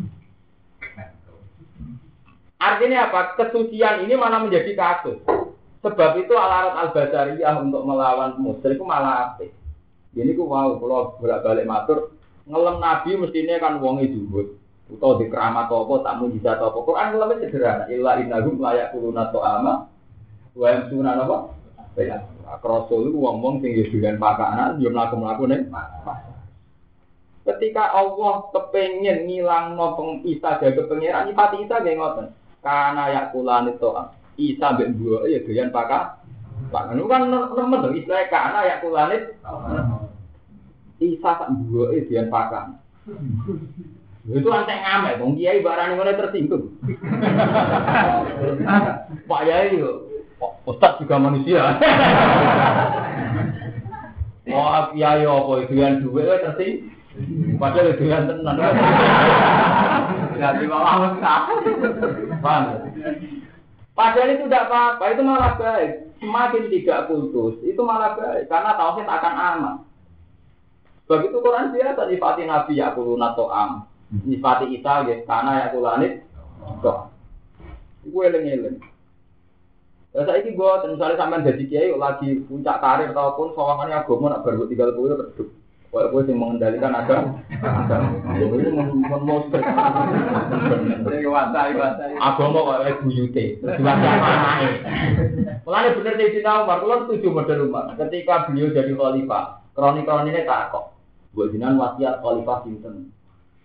Artinya apa? Kesucian ini malah menjadi kasus. Sebab itu al-arad al-basariyah untuk melawan musyrik itu malah apik. Ini ku wow, kalau bolak-balik matur, ngelem nabi mestinya kan wong dhuwur. Utawa di keramat apa tak mujizat apa. Quran ngelem sederhana, illa innahum la yaquluna ta'ama wa yamsuna apa? Ya, rasul itu wong-wong sing doyan pakanan, yo mlaku-mlaku ning. Ketika Allah kepengin ngilangno Isa dadi pangeran, nyifati Isa nggih ngoten. Kana yakulani ta'am. Isa mbek mbuh ya doyan pakan. Pakan kan nemen to istilah kana ya kulanit. Isa sak mbuh doyan pakan. Itu antek ngamek wong kiai barane ngene tersinggung. Pak Yai yo Ustaz juga manusia. Wah, kiai apa doyan dhuwit tersinggung. Padahal doyan tenan. Jadi malah paham. Padahal itu tidak apa-apa, itu malah baik. Semakin tidak putus, itu malah baik. Karena tauhid akan aman. Sebab itu Quran biasa nyifati Nabi yaquluna ta'am. Nyifati Isa nggih kana yaqulanit. Kok. Iku eling-eling. Lah saiki gua misalnya sampean dadi kiai lagi puncak karir ataupun sawangane agama nak baru 30 redup. Kowe sing mengendalikan agama. Ini memonster. Agama kok buyute. Diwacana anake. Mulane bener Sayyidina Umar, kula setuju model Umar. Ketika beliau jadi khalifah, kroni-kronine takok. Mbok jenengan wasiat khalifah sinten?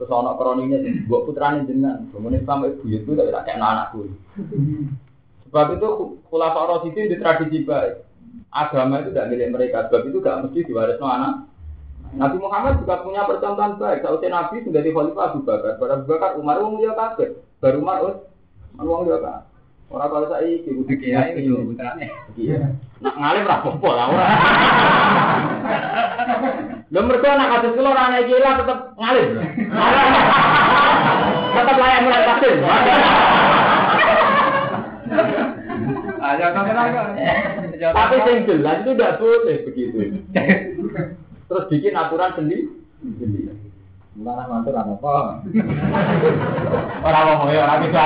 Terus ana kroninya mbok putrane jenengan, ngene sampe buyut itu tak kayak anakku. Sebab itu khulafa Rasyidin di tradisi baik. Agama itu tidak milik mereka, sebab itu tidak mesti diwarisno anak. Nabi Muhammad juga punya percontohan baik. Sausai Nabi menjadi khalifah Abu Bakar, Abu Bakar Umar wong liya kabeh. Baru Umar wong liya kabeh. Ora kaya saiki kudu kiai iki putrane. Iya. Nak ngalim ra apa lah ora. Lha mergo anak kados kula ora ana iki lah tetep ngalim. Tetep layak mulai takdir. Aja kan. Tapi yang jelas itu tidak boleh begitu. Terus bikin aturan sendiri. Malah mantul apa? Orang ngomong ya orang bisa.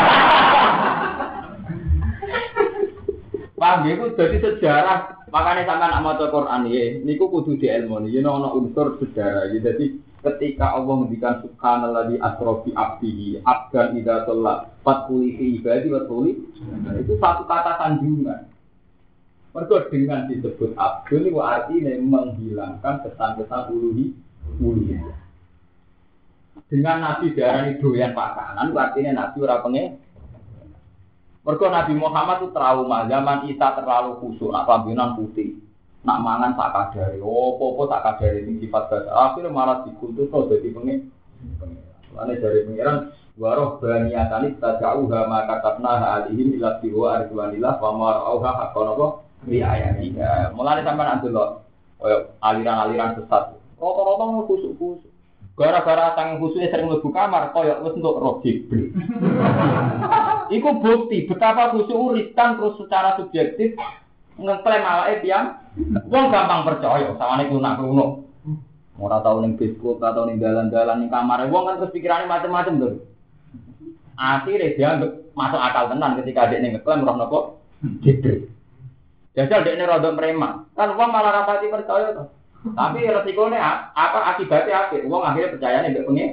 Paham ya, itu jadi sejarah. Makanya sampai nak maca Quran ya, niku kudu diilmoni. Ya ono unsur sejarah. Ya, jadi ketika Allah mendikan subhanalladzi asra bi abdihi abdan idza shalla fatquli fi ibadi wa tuli, itu satu kata sanjungan. Mergo dengan disebut abdul itu artinya menghilangkan kesan-kesan uluhiyah. Dengan Nabi darani doyan pakanan, artinya Nabi ora pengen. Mergo Nabi Muhammad itu trauma zaman Isa terlalu khusyuk, nak pambinan putih, nak mangan tak kadare, opo-opo tak kadare sing sifat dasar. Akhirnya malah dikultus kok dadi pengen. Lane dari pengiran waroh baniyatani tajauha maka katna alihim ila tiwa arjuanillah wa marauha haqqan apa riayatiha. Mulane sampean andelok koyo aliran-aliran sesat. Rata-rata khusuk-khusuk. Gara-gara tang khususnya sering mlebu kamar koyo wis entuk roh Jibril. Iku bukti betapa khusyuk riskan terus secara subjektif ngeklaim awake tiyang wong gampang percaya sawane kunak-kuno. Ora tau ning Facebook, ora tau ning dalan-dalan ning kamare wong kan terus pikirane macam-macam lho. Akhire dia masuk akal tenan ketika dekne ngeklaim roh napa Jibril. Jajal dekne rada preman. Kan wong malah rapati percaya to. Tapi resikonya apa akibatnya apa? Uang akhirnya percaya nih pengen.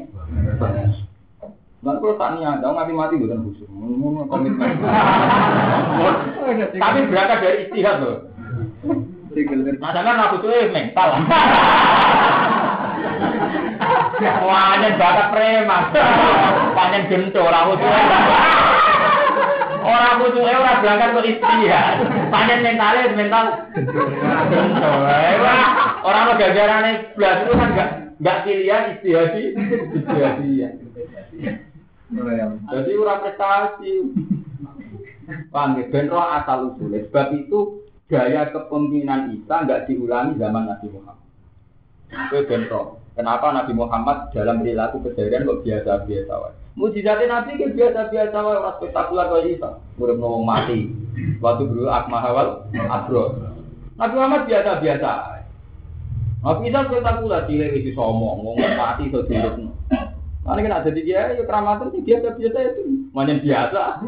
Nanti kalau tanya, dong mati bukan khusus, komitmen. Tapi berangkat dari istihad loh. Nah, jangan aku tuh mental. Wanyen bakat preman, panjen gento orang khusus. Orang khusus orang berangkat ke istihad, panjen mental gento. Orang lo gajarannya belas itu kan nggak pilihan istihadi. Jadi ura prestasi. Paham ya? Ben roh asal usulnya. Sebab itu gaya kepemimpinan Isa nggak diulangi zaman Nabi Muhammad. Itu ben roh. Kenapa Nabi Muhammad dalam perilaku keseharian kok biasa-biasa wae? Mujizatnya Nabi kan biasa-biasa wae, ora spektakuler kaya Isa. Urip nang mati. Waktu dulu akmahawal abro. Nabi Muhammad biasa-biasa. Nabi Isa spektakuler cilik iki somong, wong mati iso dirupno. Mane kan ada dia ya keramatan sih biasa-biasa itu. Manyen biasa.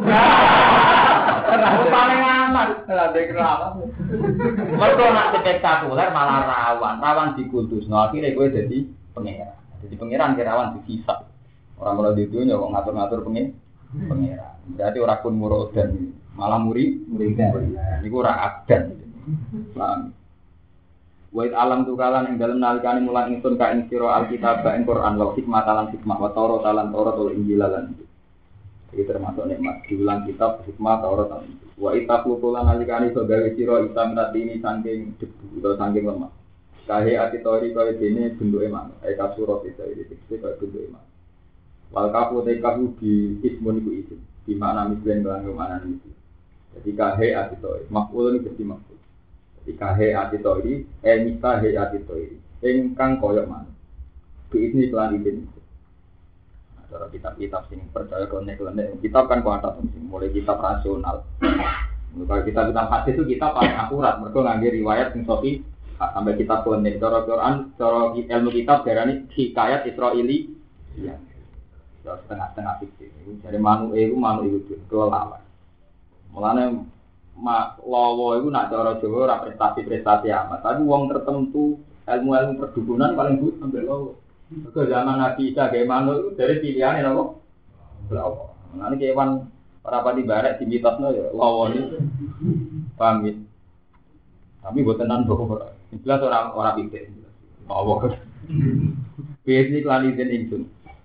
Ora paling aman, ora ada keramat. Mergo nak spektakuler malah rawan dikultusno. Akhire kowe dadi pangeran. Jadi pangeran kirawan dihisab. Ora mulai di dunya kok ngatur-ngatur pangeran. Berarti ora kun murodan, malah murid-murid. Niku ora adan. Paham? Wa alam tukalan ing dalem nalikane mulang ingsun ka ing sira alkitab ing Quran wa hikmah lan hikmah wa Taurat lan Taurat ul Injil lan. Iki termasuk nikmat diulang kitab hikmah Taurat lan. Wa itaqululan nalikane iso gawe sira isa minatini saking debu utawa saking lemah. Kahe ati tori kaya dene bentuke manuk. Eka surat isa iki tekste kaya bentuke manuk. Wal kafu te kafu di ismun iku isim. Di makna mislen lan mana iki. Jadi kahe ati tori maf'ul iki dadi maf'ul. Ikahe atitori, mitahe atitori, engkang koyok mana? Ini iklan izin. Cara kitab-kitab sing percaya konek-konek, kitab kan kuantat sing mulai kitab rasional. Kalau kitab hadis itu kita paling akurat, mereka ngambil riwayat sing sofi sampai kitab konek. Cara Quran, cara ilmu kitab darani hikayat Israili, ya, setengah-setengah fikih. Jadi manu itu kelelawar. Mulanya lawa itu nak cara Jawa ora prestasi amat. Tapi wong tertentu ilmu perdukunan paling but sampai lawa. Ke zaman Nabi Isa gawe manuk itu dari pilihane napa? Lawa. Nanti kewan para pati barek dimitosno ya lawa iki. Paham ya? Tapi boten tenan kok. Jelas ora pikir. Lawa. Biasane klani den ingsun.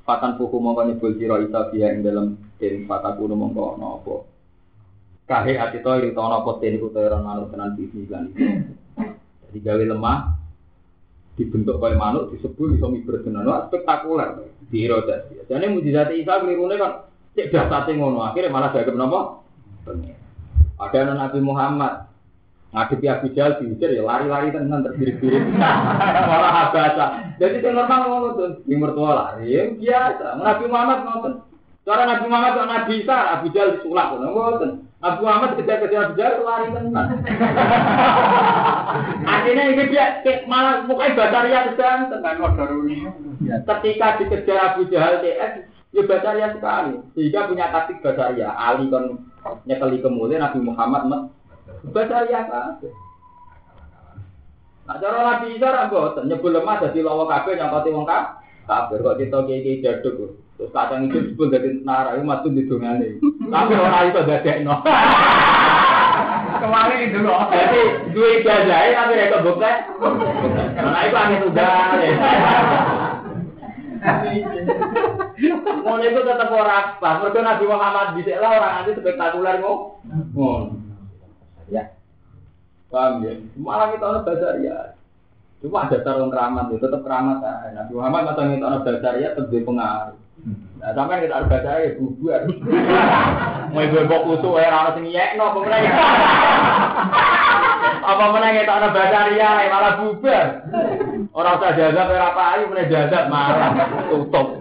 Fatan puku mongko nyebul sira isa biya ing dalem den fataku mongko ana apa. Kahe ati to ing ana apa den iku ora manut tenan bisi lan iki. Jadi gawe lemah dibentuk kaya manuk disebul iso miber tenan. Wah spektakuler. Dira dadi. Jane mujizat Isa klirune kan cek dasate ngono akhire malah dagem napa? Ada anak Nabi Muhammad ngadepi Abu Jahal diujar ya lari-lari tenan terbirit-birit. Malah habasa. Jadi itu normal ngono tuh, di mertua lari ya biasa. Nabi Muhammad ngoten. Cara Nabi Muhammad kok Nabi Isa Abu Jahal disulap ngoten. Nabi Muhammad ketika Abu Jahal lari tenan. Akhirnya ini dia malah mukanya Bataria sedang tenan kodaruni. Ketika dikejar Abu Jahal TS ya Bataria sekali. Sehingga punya taktik Bataria. Ali kan nyekeli kemudian Nabi Muhammad Bataria kabeh. Nah cara Nabi Isa ra mboten nyebul lemah dadi lawa kabeh nyangkoti wong kabeh kok kita iki jaduk. Terus kadang itu disebut dadi nara iku matu didongane. Tapi ora iso dadekno. Kemarin itu loh. Jadi duwe jajahe tapi rek kebukte. Nah iku angin udan. Ngono itu tetep ora pas. Mergo Nabi Muhammad dhisik lah ora nganti spektakuler ngono. Ya. Paham ya? Malah kita ana basaria. Cuma ada sarung keramat itu tetap keramat ae. Nabi Muhammad masa kita ana basaria tetep pengaruh. Nah, sampeyan kita ada basaria bubar. Mau ibu kusuk ora ana sing nyekno apa meneh. Apa meneh kita ana basaria malah bubar. Ora usah jazab ora payu meneh jazab malah tutup.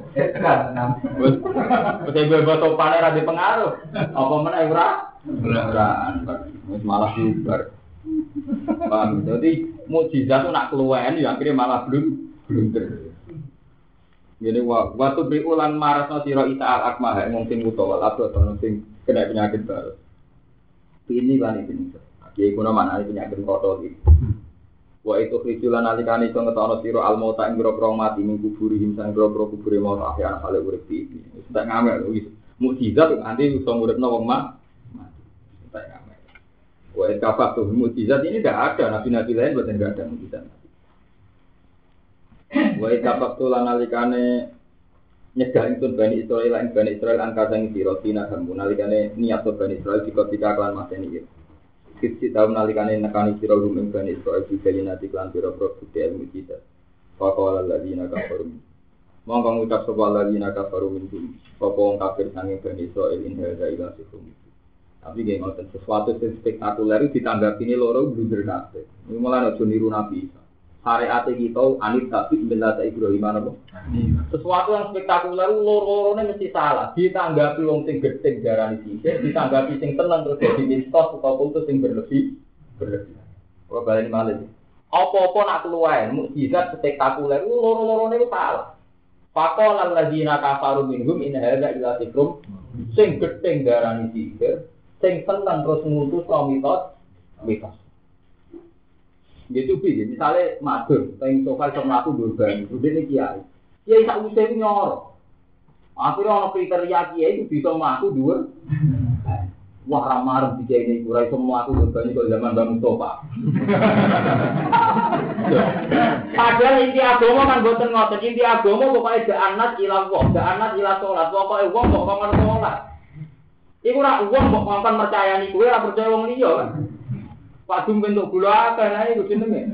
Wis ibu topane ra dipengaruh. Apa meneh ora? Ora malah bubar. Paham? Jadi mukjizat itu nak keluwen ya akhirnya malah blunder. Ngene waktu biulan marasno sira Isa akmah wong sing utawa atau sing kena penyakit baru. Ini kan iki. Iki kuna manane penyakit kotor iki. Wa itu rijulan alikane iso ngetono sira almauta ing grobro mati ning kuburi himsan grobro kubure mau akhir kale urip iki. Wis tak ngamel wis mukjizat nganti iso nguripno wong mati. Tak ngamel. Wa kafat tuh mukjizat ini tidak ada nabi-nabi lain buat enggak ada mukjizat. Wa kafat tuh nalikane nyegah itu Bani Israil angkasang sira tina kamu nalikane niat Bani Israil ketika kelan mateni iki. Kiti tahun nalikane nekani sira rumeng Bani Israil digelinati kelan pira-pira bukti mukjizat. Faqala alladziina kafaru. Monggo ngucap sapa alladziina kafaru minhum. Sapa wong kafir sange Bani Israil in hadza ila sikum. Tapi nggih ngoten sesuatu sing spektakuler ditanggapine loro blunder kabeh. Iki malah aja niru Nabi Isa. Syariat kita anit tapi benda Ibrahim apa? Sesuatu yang spektakuler loro-lorone mesti salah. Ditanggapi wong sing gedhe darani sisih, ditanggapi sing tenang terus dadi mistos utawa putus sing berlebih. Ora baleni malih. Apa-apa nak keluwen mukjizat spektakuler loro-lorone itu salah. Faqala alladziina kafaru minhum in hadza illa sihrun sing gedhe darani sisih. Sing tenang terus ngutus mitos. Gitu piye? Misale madur, teng sofa iso mlaku durban, dene kiai. Kiai sak usih ku nyoro. Akhire ana kriteria kiai itu bisa mlaku dhuwur. Wah, ramar iki kiai iki ora iso mlaku durban kok zaman Mbah Mustofa. Padahal inti agama kan boten ngoten, inti agama pokoke da'anat ila Allah, da'anat ila salat, pokoke wong kok ngomong salat. Iku ora wong kok ngomong percayani kowe ora percaya wong liya kan. Pak Dum bentuk gula kan ae iku jenenge.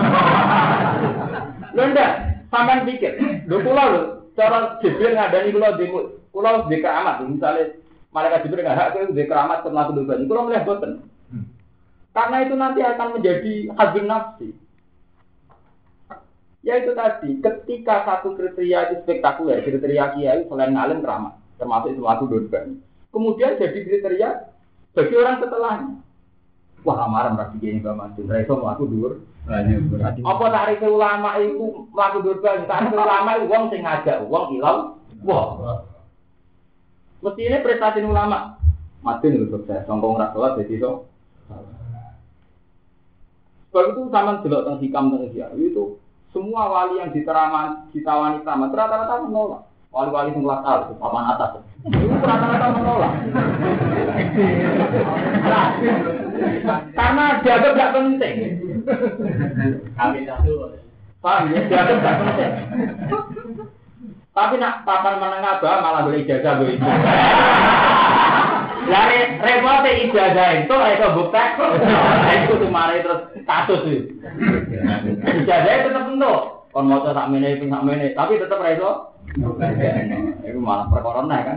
Lho ndak, sampean pikir, lho kula lho cara Jibril ngadani kula di keramat, misale malaikat Jibril enggak hak kowe di keramat ke mlaku dosa. Kula melihat boten. Karena itu nanti akan menjadi hazun nafsi. Ya itu tadi, ketika satu kriteria itu spektakuler, kriteria kiai selain ngalim keramat, termasuk itu mlaku dosa. Kemudian jadi kriteria bagi orang setelahnya. Wah, amaran berarti gini Mbak Mansur. Reso mlaku dhuwur. Apa tarif ulama itu mlaku dhuwur ban? Tarif ulama itu wong sing ngajak wong ilang. Wah. Mestine prestasi ulama. Madun itu sukses. Songkong ra salat dadi iso. Sebab itu zaman delok teng hikam teng itu semua wali yang ditawani keramat rata-rata menolak. Wali-wali sing kelas A, papan atas. Itu rata-rata menolak. Karena dianggap tidak penting. Kami satu. Paham ya? Dianggap tidak penting. Tapi nak papan menengah bah malah boleh ijazah gue itu. Lari repot ijazah itu bukti. Itu cuma terus kasus itu. Ijazah itu tetap bentuk. Kon mau sak mene tapi tetap reso. Itu malah perkara kan.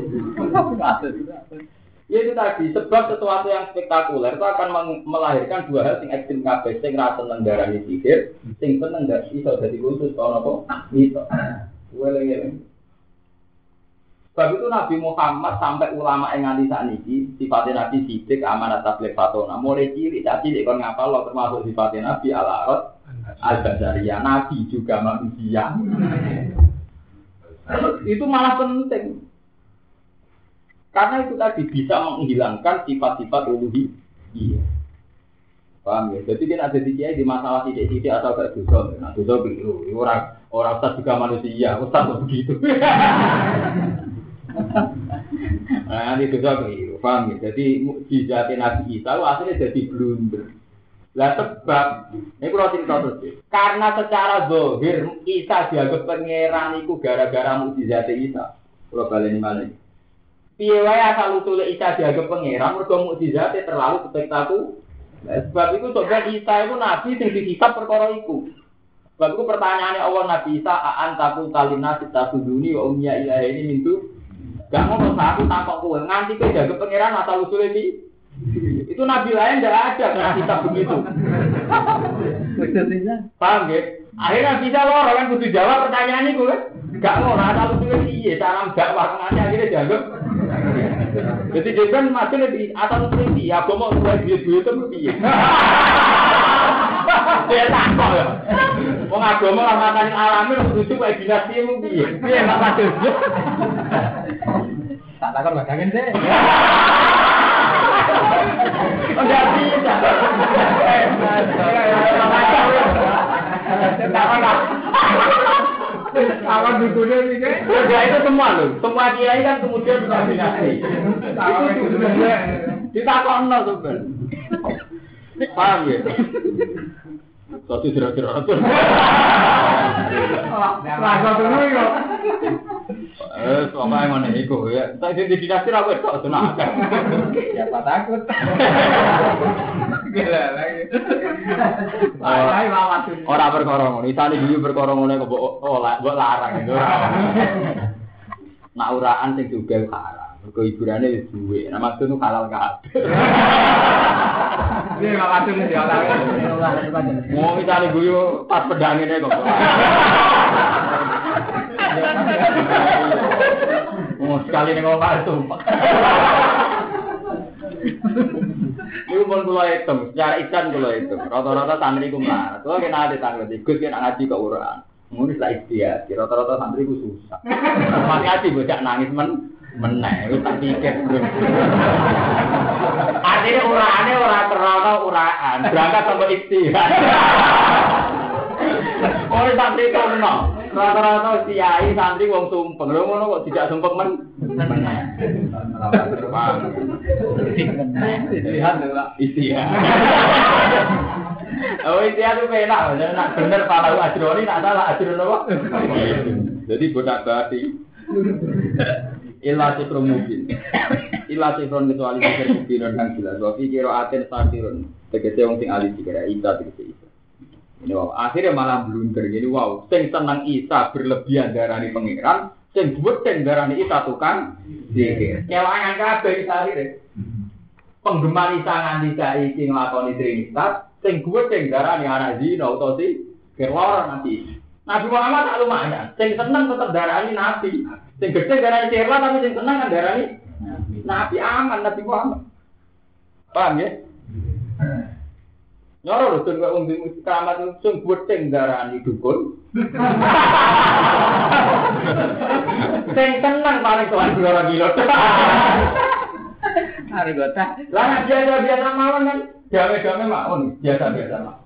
Ya itu tadi, sebab sesuatu yang spektakuler itu akan melahirkan dua hal yang ekstrim kabeh, sing ra seneng darani sihir, sing seneng gak iso dadi khusus ana apa? Iso. Weleng-weleng. Sebab itu Nabi Muhammad sampai ulama yang nganti sakniki sifatnya Nabi sidik amanat tabligh fatona. Mulai cilik tak cilik kon ngapal lo termasuk sifatnya Nabi al-Arad al-Basariyah, Nabi juga manusia. Itu malah penting. Karena itu tadi bisa menghilangkan sifat-sifat uluhiyah. Paham ya? Jadi kan ada di masalah titik-titik atau gak dosa. Nah, dosa keliru. Orang ustaz juga manusia, ustaz begitu. Nah, ini dosa keliru. Paham ya? Jadi mukjizat Nabi Isa asalnya jadi blunder. Lah sebab ini kalau cerita terus. Karena secara zahir Isa dianggap pangeran itu gara-gara mukjizat Isa. Kalau balik ini malah. Piye wae asal usule Isa dianggap pangeran mergo mukjizate terlalu spektakuler. Sebab itu coba Isa itu nabi sing dihisab perkara iku. Sebab itu pertanyaannya Allah Nabi Isa a'antaku talina sitabuduni wa umya ilahi ini mintu. Gak ngomong aku takok kowe nganti kowe dianggap pangeran asal usule iki. Itu nabi lain ndak ada yang hisab begitu. Paham ya? Akhirnya bisa loro kan kudu jawab pertanyaan iku kan. Gak ngono asal usule piye cara dakwah ngene akhirnya dianggap. Jadi jangan masih lebih asal seperti ya, mau buat duit itu piye? Dia takut ya. Mau agama ramatan alami lucu kayak dinasti mu piye? Piye mak masuk? Tak takut bagangin deh. Enggak bisa. Awan dukunnya ini kan? Ya itu semua loh. Semua kiai kan kemudian bisa dinasti. Ditakon no sebenarnya. Paham ya? Satu jerak-jerak. Rasa dulu ya. Soalnya yang mana itu ya. Saya di dinasti apa itu? Tenang. Siapa takut? Gila lagi. Orang berkorong, isane dulu berkorong oleh kok mbok larang itu ora. Nak uraan sing juga haram. Mergo hiburane wis duwe. Nah maksud nu halal kabeh. Iya maksudnya dihalal. Mau isane guyu pas pedangene kok. Mau sekali ning omah sumpah. Iku pun kula hitung, secara ikan kula hitung. Rata-rata santri ku mlarat. Kula kena ade tanglet ikut kena ngaji kok uraan. Ngono wis lak ikhtiar. Rata-rata santri ku susah. Pas ngaji bocah nangis meneh, wis tak pikir. Artine uraane ora terana uraan, berangkat sampai ikhtiar. Ora santri kono. Rata-rata kiai santri wong sumpeng. Lho ngono kok tidak sumpeng meneh. Istiha. Oh istiha itu penak, nak bener palau ajroni, nak salah ajron apa? Jadi bodak bati. Ilah sifron mungkin. Ilah sifron kecuali sifir mungkin dan jelas. Wafi kiro aten santirun. Tegese wong sing alim dikira Isa tegese Isa. Ini wow, akhirnya malah blunder. Jadi wow, sing senang Isa berlebihan darani pangeran, sing buatan darani Isa tukang sihir. Kewangan kabeh Isa akhirnya. Penggemar Isa nganti saiki nglakoni trinitas, sing buatan darani anak zina utawa sihir lara nanti. Nabi Muhammad tak lumayan, sing seneng tetep darani nabi. Sing gede darani sihir lah tapi sing seneng kan darani nabi aman Nabi Muhammad. Paham ya? Nyoro lho tun kok wong keramat sing buting darani dukun. Sing tenang paling tuan kula gila. Are gota. Lah biasa mawon kan. Dame-dame mawon, biasa-biasa mawon.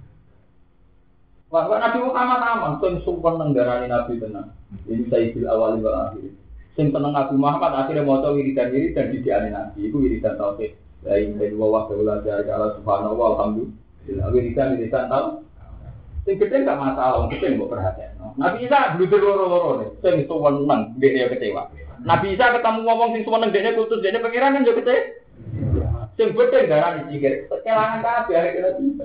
Wah, Nabi Muhammad aman, sing sumpah nang darani Nabi tenan. Ini sayyidul awal wal akhir. Sing tenang Nabi Muhammad akhirnya maca wiridan didiane Nabi. Iku wiridan tauhid. La ilaha illallah wa la ilaha illallah subhanallah walhamdulillah. Wiridan tahu. Sing gede enggak masalah, wong gede mbok perhatekno. Nabi Isa bluder loro-loro nih, sing suweneng dhekne kecewa. Nabi Isa ketemu ngomong sing suweneng dhekne kultus dhekne pengiran kan yo kecewa. Sing gede darah dicikir, kelangan kabeh akhirnya bisa.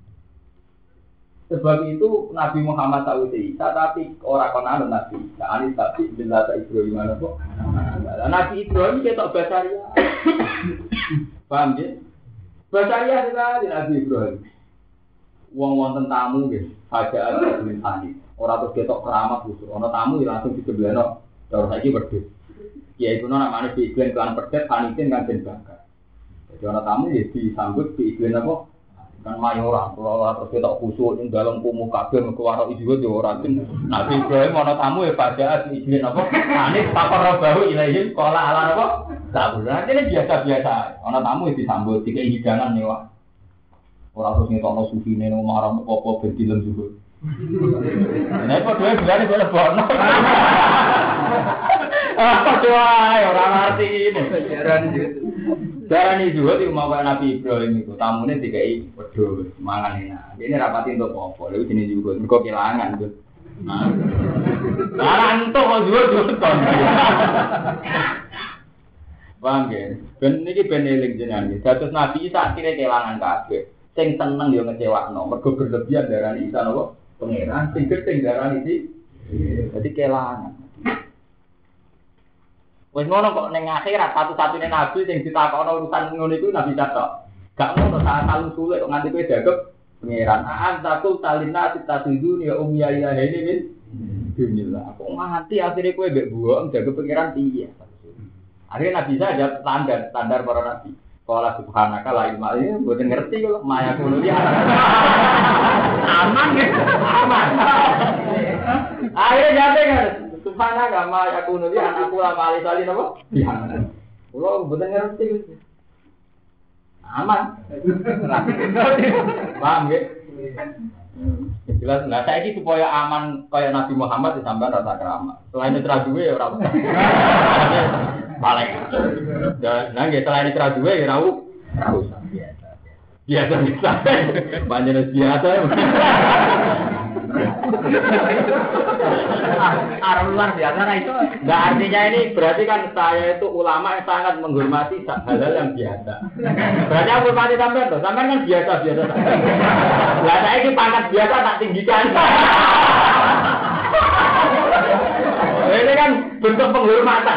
Sebab itu Nabi Muhammad tahu Isa, tapi orang konon Nabi Isa. Anis tapi bila tak Ibrahim mana kok? Nabi Ibrahim ketok basaria. Paham ya? Basaria sekali Nabi Ibrahim. Wong wonten tamu nggih, hajaan tulis hadis. Ora terus ketok keramat khusus. Ana tamu langsung disebeleno. Terus saiki wedhus. Kiai kuno namane diiklan kelan pedet panitin kanjen bakar. Jadi ana tamu ya disambut diiklan apa? Kan mayoran, kalau terus kita khusus ing dalam kumuh kabeh mergo warok ijo yo ora tin. Nabi Ibrahim ana tamu ya pada izin apa? Anis pakar bahu ilahi qala ala apa? Tak bener, ini biasa-biasa. Ana tamu disambut dikai hidangan mewah. Ora terus ngetokno sufine nang marang apa ben dilem juga. Nek padha bilane kok lebono. Apa doa ora ngerti ini. Darani juga di rumah Nabi Ibrahim itu tamunya dikai wedhus mangan enak. Ini rapati untuk apa? Lalu jenis juga mergo kelangan tuh. Nah, entuk kok juga kon. Bang, ben niki ben eling jenengan. Dados Nabi Isa akhire kelangan kabeh. Sing seneng yo ngecewakno, mergo berlebihan darani Isa napa? Pangeran sing gedhe darani iki. Dadi kelangan. Wes ngono kok ning akhirat satu-satunya nabi sing ditakokno urusan ngono iku Nabi Isa tok. Gak ngono sak talu sulit kok nganti kowe dagep pangeran. Takul talina titaduni ya umya ya ini min. Bismillah. Kok nganti akhire kowe mbek buok dagep pangeran piye? Akhirnya Nabi Isa ada standar para nabi. Qala subhanaka la ilma illa mboten ngerti kok maya kuno ya. Aman ya. Aman. Ayo jate kan. Subhanaka ma yakunu li anakku la mali salin apa? Iya. Kulo mboten ngerti gitu. Aman. Paham nggih? Jelas lah saiki supaya aman kaya Nabi Muhammad disampean rasa keramat. Selain itu duwe ya ora usah. Paling. Nah nggih selain itu duwe ya ora usah biasa. Biasa. Panjenengan biasa. Luar biasa nah itu. Enggak artinya ini berarti kan saya itu ulama yang sangat menghormati hal-hal yang biasa. Berarti aku hormati sampean loh. Sampean kan biasa-biasa saja. Lah saya ini pangkat biasa tak tinggikan. Ini kan bentuk penghormatan.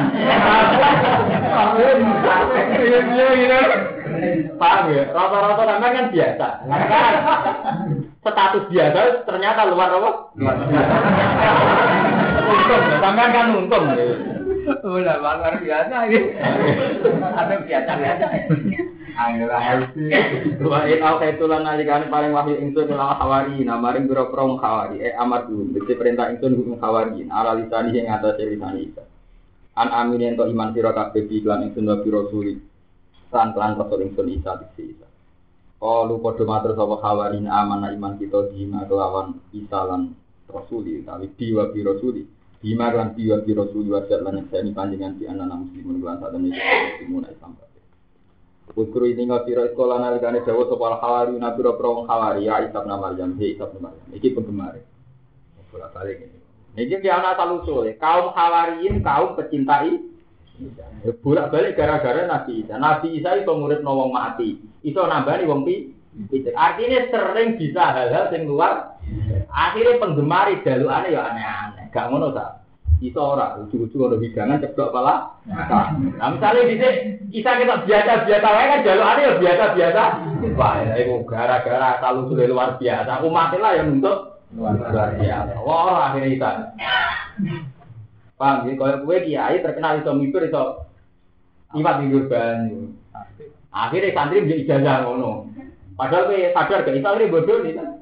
Paham ya? Rata-rata sampean kan biasa. Kan status biasa ternyata luar apa? Luar biasa. Untung, sampean kan untung. Udah luar biasa ini. Ada biasa-biasa. Ayolah. Wa in auqaitulan nalikane paling wahyu ingsun ila hawari namaring biro-biro hawari amar dulu dadi perintah ingsun hukum hawari ala lisani ing atase lisani iki. An amin ento iman sira kabeh iklan ingsun wa biro suri. Lan rasul ingsun isa dise. Lu padha matur sapa hawarin amanah iman kita dina kelawan isalan rasuli tapi diwa bi rasuli dima lan diwa bi rasuli wa lan seni panjenengan di anak muslimun lan sadene muslimun Islam. Ukru ini ngapira sekolah nalikane dawuh sapa hawari nabira pro hawari ya Isa bin Maryam Isa bin Maryam iki penggemar. Ora balik iki. Niki ki ana talusul kaum hawariin kaum pecintai bolak-balik gara-gara Nabi Isa. Nabi Isa itu murid wong mati. Iso nambani wong pinter. Artinya sering bisa hal-hal sing luar. Akhirnya penggemar jalukane ya aneh-aneh. Gak ngono ta? Iso ora ujug-ujug ono hidangan ceblok pala. Nah, misale dhisik Isa kita biasa-biasa wae kan jalukane ya biasa-biasa. Wah, iku gara-gara talusule luar biasa. Umat lah yang untuk luar biasa. Wah, akhirnya Isa. Paham ya, kalau gue kiai terkenal iso mikir iso iwat minggu banyu. Akhirnya santri menjadi ijazah ngono. Padahal gue sadar gak iso ini bodoh nih kan.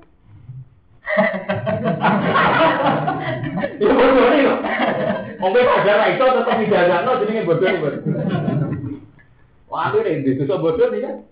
Ya bodoh nih kok. Mungkin sadar iso tetap ijazah no jenenge bodoh nih bodoh. Wah akhirnya disusuk bodoh nih kan.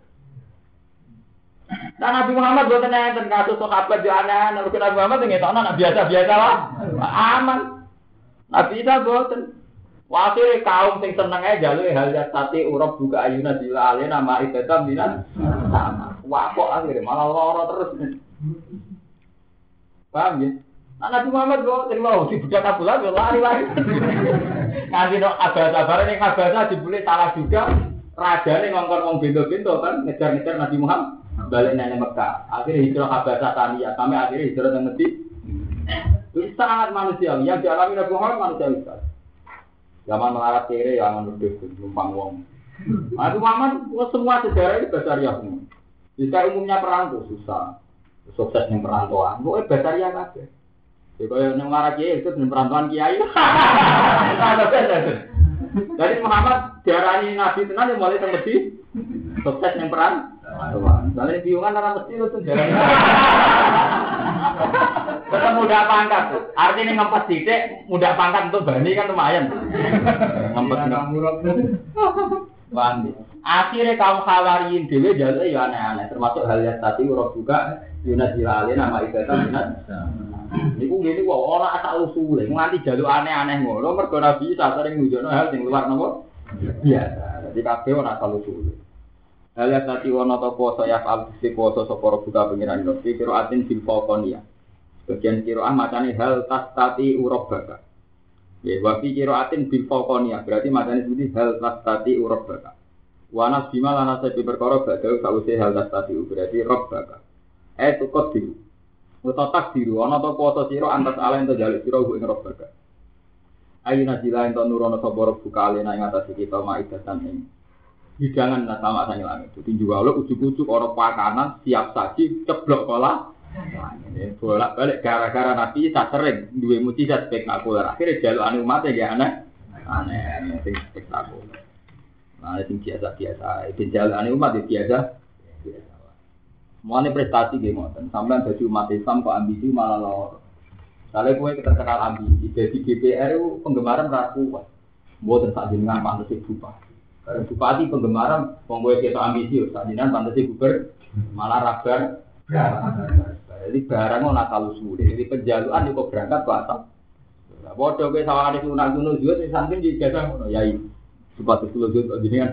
Nah Nabi Muhammad buatan enten kasus sahabat yo aneh, Nabi Muhammad ngetokno nak biasa-biasa lah. Aman. Nabi Isa boten. Wakil kaum sing seneng ae jaluke hal yati urab buka ayuna dilale nama ibadah minan sama. Wah kok akhire malah lara terus. Paham ya? Nah, Nabi Muhammad kok terima si budak Abdullah yo lari-lari. Nanti no abah-abah ning abah dibule salah juga. Rajane ngongkon wong bento-bento kan ngejar-ngejar Nabi Muhammad balik nang Mekah. Akhirnya hijrah Habasah Tania sampai akhirnya hijrah ke Medina. Itu sangat manusiawi yang dialami Nabi Muhammad manusiawi sekali. Zaman melarat kere ya menurut numpang wong. Nabi Muhammad semua sejarah itu basaria semua. Jika umumnya perang itu susah. Sukses yang perantauan, pokoknya basaria kabeh. Kalau yang melarat kere itu perantauan kiai. Jadi Muhammad diarani Nabi tenan yang mulai temedi sukses yang peran. Soalnya biungan orang mesti itu diarani. Tetap mudah pangkat. Artinya ngempet sidik, mudah pangkat untuk bani kan lumayan. Ngempet bani. Akhirnya kaum Hawariyin dhewe jaluk ya aneh-aneh, termasuk hal yang tadi urut juga Yunus Jilali nama ibadah minat. Niku ngene kok ora asal usule, nganti jaluk aneh-aneh ngono mergo Nabi sering nunjukno hal sing luar napa biasa. Dadi kabeh ora asal usule. Hal yang tadi wono to poso ya al poso sapa buka pengiran yo kira atin bil faqonia. Bagian kira macane hal tastati urabaka. Ya wa fi kira atin bil faqonia berarti macane seperti hal tastati urabaka. Wa nas bima lana sabi perkara badhe sawise hal tastati berarti rabbaka. Tukot diru. Utatak diru ana to poso sira antas ala ento jaluk sira ing rabbaka. Ayuna jila ento nurono sapa buka alena ing atas kita maidatan ing hidangan sama sange langit. Dadi jual ujuk-ujuk ora pakanan siap saji ceblok pola. Ini bolak-balik gara-gara Nabi tak sering duwe mujizat spektakuler. Akhire jalukane umat ya aneh sing spektakuler. Nah, sing biasa-biasa, itu jalukane umat biasa. Mulane prestasi nggih ngoten. Sampeyan dadi umat Islam kok ambisi malah loro. Sale kowe terkenal ambisi, dadi DPR itu penggemaran ra kuat. Mboten sak jenengan pantes bupati. Karena bupati penggemaran wong kowe ketok ambisi, sak jenengan pantes gubernur malah rabar. Jadi barang ora nakal usule. Jadi penjalukan kok berangkat kok asal. Lah padha kowe sawangane sunah-sunah juga sing santri dijajah ngono yai. Bupati kulo jenengan.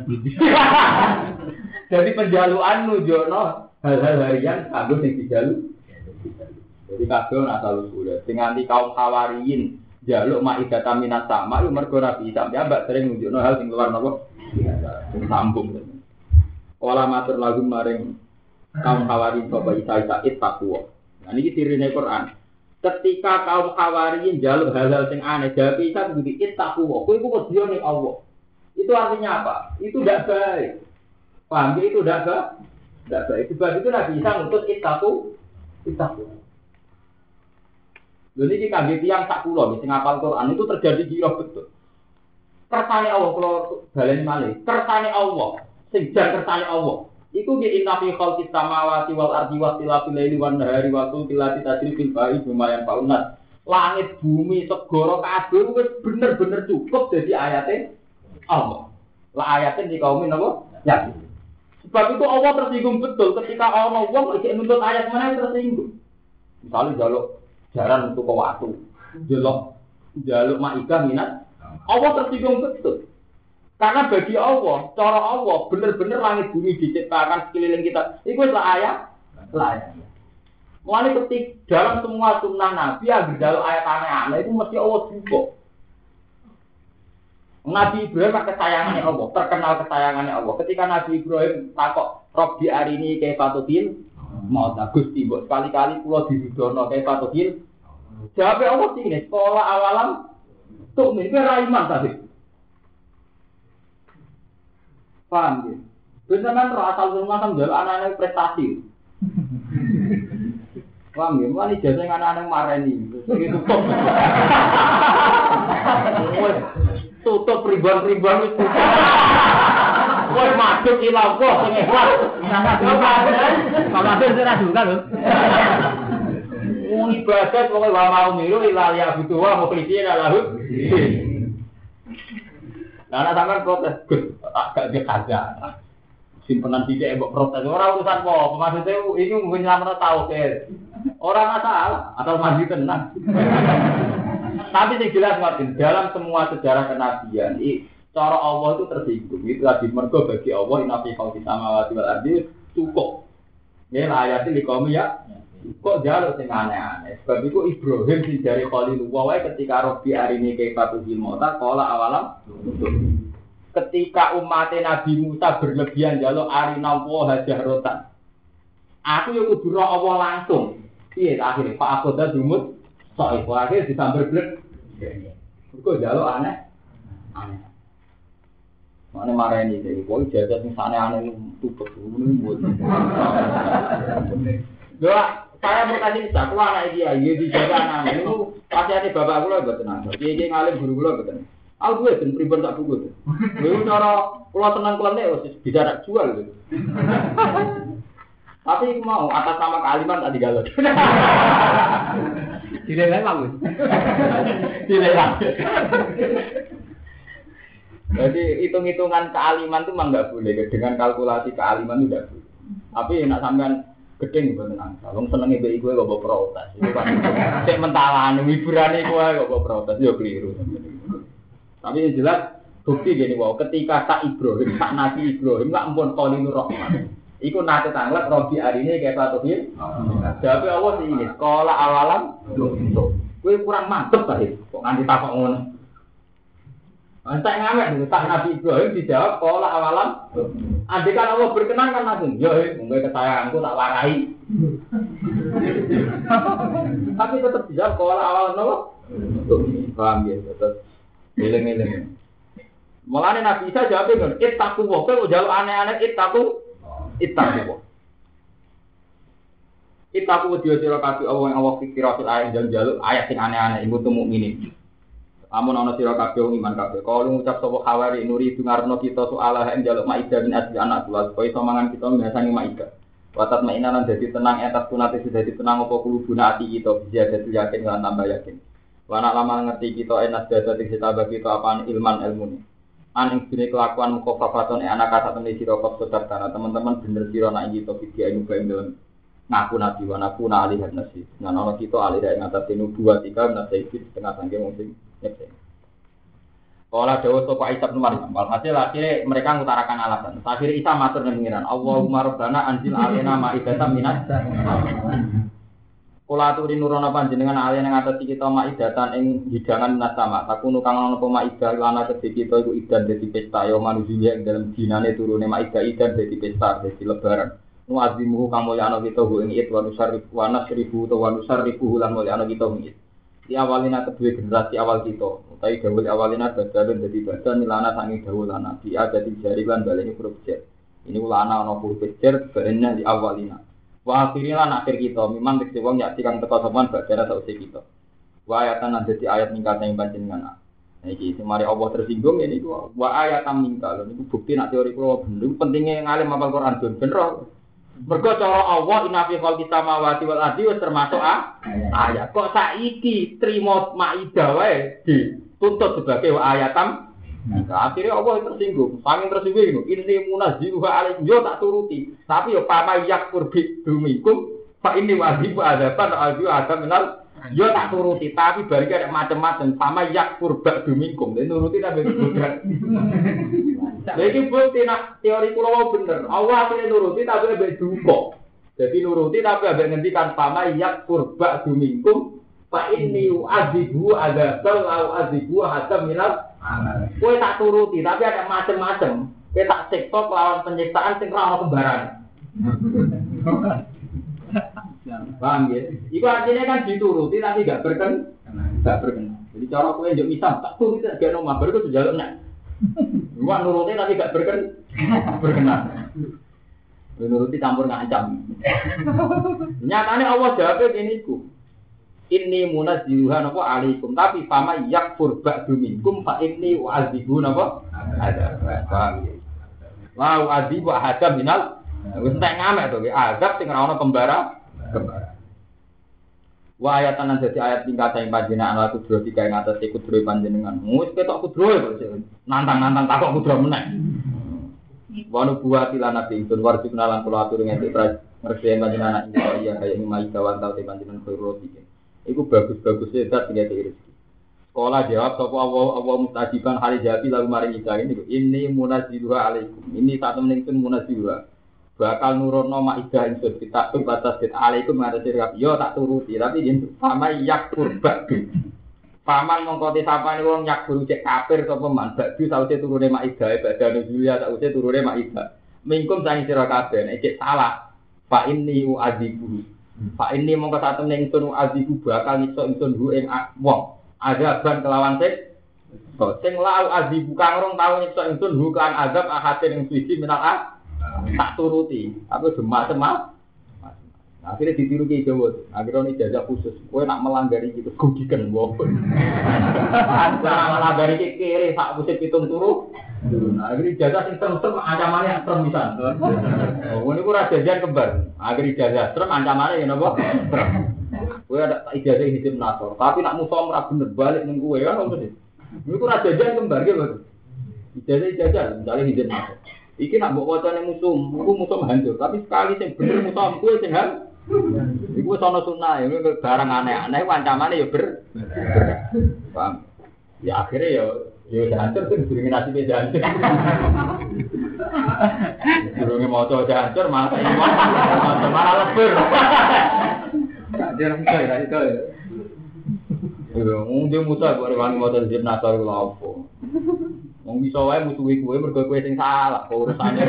Jadi penjalukan nunjukno hal-hal harian kanggo sing dijaluk. Jadi kabeh ana asal usule. Sing nganti kaum Hawariyin jaluk maidatan minas sama yo mergo Nabi sampe mbak sering nunjukno hal sing luar napa sing sambung. Ola matur lagu maring kaum Hawariyin sapa Isa takwa. Nah niki dirine Quran. Ketika kaum Hawariyin jaluk hal-hal sing aneh, jawab Isa begitu takwa. Kowe iku wedi ning Allah. Itu artinya apa? Itu tidak baik. Paham itu tidak baik. Sebab itu Nabi Isa ngutus itaku. Jadi ini kangge tiyang sak kula sing ngapal Quran itu terjadi giro betul. Kersane Allah kula baleni malih. Kersane Allah, sing jan kersane Allah. Iku di inna fi khalqis samawati wal ardi wa ikhtilafil laili wan nahari wa tilati tajrifil ba'i lumayan paunat. Langit bumi segara kabeh wis bener-bener cukup dadi ayate Allah. Lah ayate di kaum napa? Ya. Sebab itu Allah tersinggung betul ketika ana wong iki nuntut ayat mana tersinggung. Misalnya jaluk jaran untuk waktu, jaluk maidah minat, Allah tersinggung betul. Karena bagi Allah, cara Allah benar-benar langit bumi diciptakan sekeliling kita. Itu adalah ayat. Mulai ketik dalam semua sunnah Nabi yang jaluk ayat aneh-aneh itu mesti Allah cukup. Nabi Ibrahim kesayangannya Allah, terkenal kesayangannya Allah. Ketika Nabi Ibrahim takok Robbi arini kaifatudin, mau Gusti mbok sekali-kali kula diridhono kaifatudin. Jawab Allah sini, sekolah awalam tuh ini ra iman tadi. Paham ya? Beneran asal rumah kan jaluk anak-anak prestasi. Paham ya? Mulai jasa yang anak-anak mareni. Tutup ribuan-ribuan itu. Woi masuk ilang kok sing ikhlas. Kamu sudah juga lho. Wong ibadah pokoke wa mau miru ila ya butuh wa mukhlishina lahu. Lah ana sampean protes, Gus, agak dikaja. Simpenan sithik mbok protes ora urusan apa, maksudnya iki mungkin nyelametno tauhid. Ora masalah, atau mandi tenang. Tapi yang jelas Martin, dalam semua sejarah kenabian, cara Allah itu tersinggung. Itu tadi mergo bagi Allah inna fi khalqis samawati wal ardi cukup. Ya ayatin di kaum ya Kok jaluk sing aneh-aneh. Sebab itu Ibrahim sing dari Khalilullah wae ketika Rabbi arini kaifatu fil mauta qala awalam. Ketika umat Nabi Musa berlebihan jaluk arina wa hajarotan. Aku yo kudu ro Allah langsung. Piye akhire Pak Akoda dumut sok iku akhir disambar blek. Kok jaluk aneh. Aneh. Mana marani iki kok jaga sing aneh-aneh tutup ngono. Doa saya berkasih bisa, aku anak dia, dia dijaga anak itu pasti ada bapak aku lah buat tenang. Dia ngalim guru guru betul. Aku gue dan pribadi tak buku tu. Lalu cara kalau tenang kelam bisa tak jual gitu. Tapi mau atas nama kealiman tak digalau. Tidak lagi bagus. Tidak lagi. Jadi hitung-hitungan kealiman itu memang nggak boleh. Dengan kalkulasi kealiman itu tidak boleh. Tapi nak sampean gedeng boten angsa. Wong senenge mbek iku kok protes. Iku kan sik mentalan hiburane iku kok protes yo keliru. Tapi yang jelas bukti gini wae ketika tak Ibrahim, tak Nabi Ibrahim lak ampun Khalilur Rahman. Iku nate tanglet Robi arine kayak Fatihil. Jawabe Allah sing ini, qala awalam. Kowe kurang mantep ta kok nganti takok ngono. Antek ngamek tak Nabi Ibrahim dijawab qala awalam. Andekan Allah berkenan kan langsung, yo mungkin kesayanganku tak warai. Tapi tetap dijawab qala awalam nopo? Paham ya, tetap eleng-eleng. Mulane Nabi Isa jawab ngene, ittaqu wa kowe njaluk aneh-aneh ittaqu. Ittaqu wedi sira kabeh Allah pikir ayat njaluk ayat sing aneh-aneh iku tu mukminin. Amun ana sira kabeh wong iman kabeh. Kalau ngucap sapa khawari nuri dungarno kita soal ing njaluk maidah bin asli anak kula supaya iso mangan kita biasane maidah. Watat mainan lan dadi tenang atas kunate dadi tenang apa kulubuna ati kita bisa dadi yakin lan tambah yakin. Wana lama ngerti kita enas dadi ditambah kita apaan ilman ilmu. Aning dene kelakuan mukofafaton anak kata temne sira kok sedar tanah teman-teman bener sira nak kita video ing dalam ngaku nabi wa naku na alih nasi. Nah ana kita alih ing atas tinu 2 3 nasi setengah sangke wong sing nyek. Kala dawuh sapa Isa bin Maryam, walhasil akhirnya mereka mengutarakan alasan. Akhirnya Isa matur nang pengiran, Allahumma rabbana anzil alaina ma'idatan minas Kula aturi nurono panjenengan alaina ing atas kita ma'idatan ing hidangan minas sama. Takunu kang ana apa ma'idah lan kedhe kita iku idan dadi pesta ya manusia ing dalem dinane turune ma'idah idan dadi pesta dadi lebaran. Nu azimuhu kang mulya ana kita ing id wa nusarrifu wa nasrifu wa nusarrifu lan mulya ana kita ing id. Di awalina kedua generasi awal kita, tapi dawul awalina badalun jadi badan milana sangi dawul lana di ada di jari lan baleni huruf jer. Ini ulana ana huruf jer barennya di awalina. Wa akhirina akhir kita memang dikse wong yakti kang teka sopan badara sausé kita. Wa ayatan dadi ayat ningkat ing panjenengan. Nah iki sing mari Allah tersinggung ini ku wa ayatan ningkat. Niku bukti nek teori kula bener pentingnya ngalim hafal Quran bener. Mergo cara Allah inna fi khalqis samawati wal ardi wis termasuk ayat. Kok saiki trimo maidah wae dituntut sebagai ayatam. Nah, akhirnya Allah tersinggung. Saking tersinggung ini munazziluha alaikum yo tak turuti. Tapi yo pama yakfur bi dumikum fa inni wajib adaban ada minal yo tak turuti. Tapi bari ada macam-macam pama yakfur ba dumikum. Nuruti tapi bukan. Lagi bukti nak teori kula bener. Allah akhirnya nuruti tapi ambek duka. Jadi nuruti tapi ambek ngendikan pama yak kurba dumingkum fa inni u'adzibu adzabal au adzibu hatta minal kowe tak turuti tapi ada macam-macam. Kowe tak siksa lawan penyiksaan sing ora ono kembaran. Paham ya? Iku artinya kan dituruti tapi gak berkenan. Jadi cara kowe njuk misal tak turuti gak ono mabar iku njaluk nek Wah nuruti tapi gak berkenan. Nuruti campur ngancam. Nyatanya Allah jawabnya gini ku. Inni munazziluha napa alaikum tapi fama yakfur ba'du minkum fa inni u'adzibu napa ada. Paham ya. Wa u'adzibu ahada minal wis entek ngamek to azab sing ora ono kembara. Wa ayatan dadi ayat tingkat sing panjenengan ala kudro digawe ngatas kudro panjenengan. Wis ketok kudro kok nantang-nantang takok kudro meneh. Wa nubuwati lan nabi itu warji kenalan kula atur ngene ngerti panjenengan iya kaya mimai kawan tau panjenengan karo iki. Iku bagus-bagus sedat tinggal rezeki. Sekolah jawab sapa Allah mustajiban hari jati lalu mari kita ini munazziluha alaikum. Ini satu menit pun munazziluha. bakal nurono maidah ingsun kita batas dit alaikum ngatasi kabeh yo tak turuti tapi yen sama yakfur ba'du paman mongko disapane wong yakfur cek kafir sapa man ba'du sawise turune maidah badane Julia sawise turune maidah mingkum sang sira kabeh nek cek salah fa inni u'adzibu fa inni mongko sak temne ingsun u'adzibu bakal iso ingsun hu ing wong azaban kelawan sing lau adzibu kang rong tau nyiksa ingsun hu kan azab ahatin ing suci minal tak turuti, aku semak-semak. Akhirnya ditiru ke Jawa. Akhirnya ini jajak khusus. Kowe nak melanggar iki terus gugiken wong. Nak melanggar iki kere sak musim pitung turu. Nah, akhirnya jajak sing serem ancamane yang serem pisan. Oh, niku ora jajan kembar. Akhirnya jajak serem ancamane ya napa? Serem. Kowe ada ijazah hidup nasor, tapi nak musuh ora bener balik ning kowe kan opo sih? Niku ora jajan kembar ge, Bos. Ijazah misalnya hidup nasor. Iki nak mbok wacane musuh hancur, tapi sekali sing bener musuh kuwi sing hal. Iku wis ana sunah, ya barang aneh-aneh ancamane ya paham. Ya akhirnya ya hancur sing diskriminasi beda hancur. Durunge maca hancur malah iman, malah lebur. Dia orang itu ya. Dia musuh gore wani maca hizib nasar kula opo. Wong bisa wae musuhi kowe mergo kowe sing salah, urusane.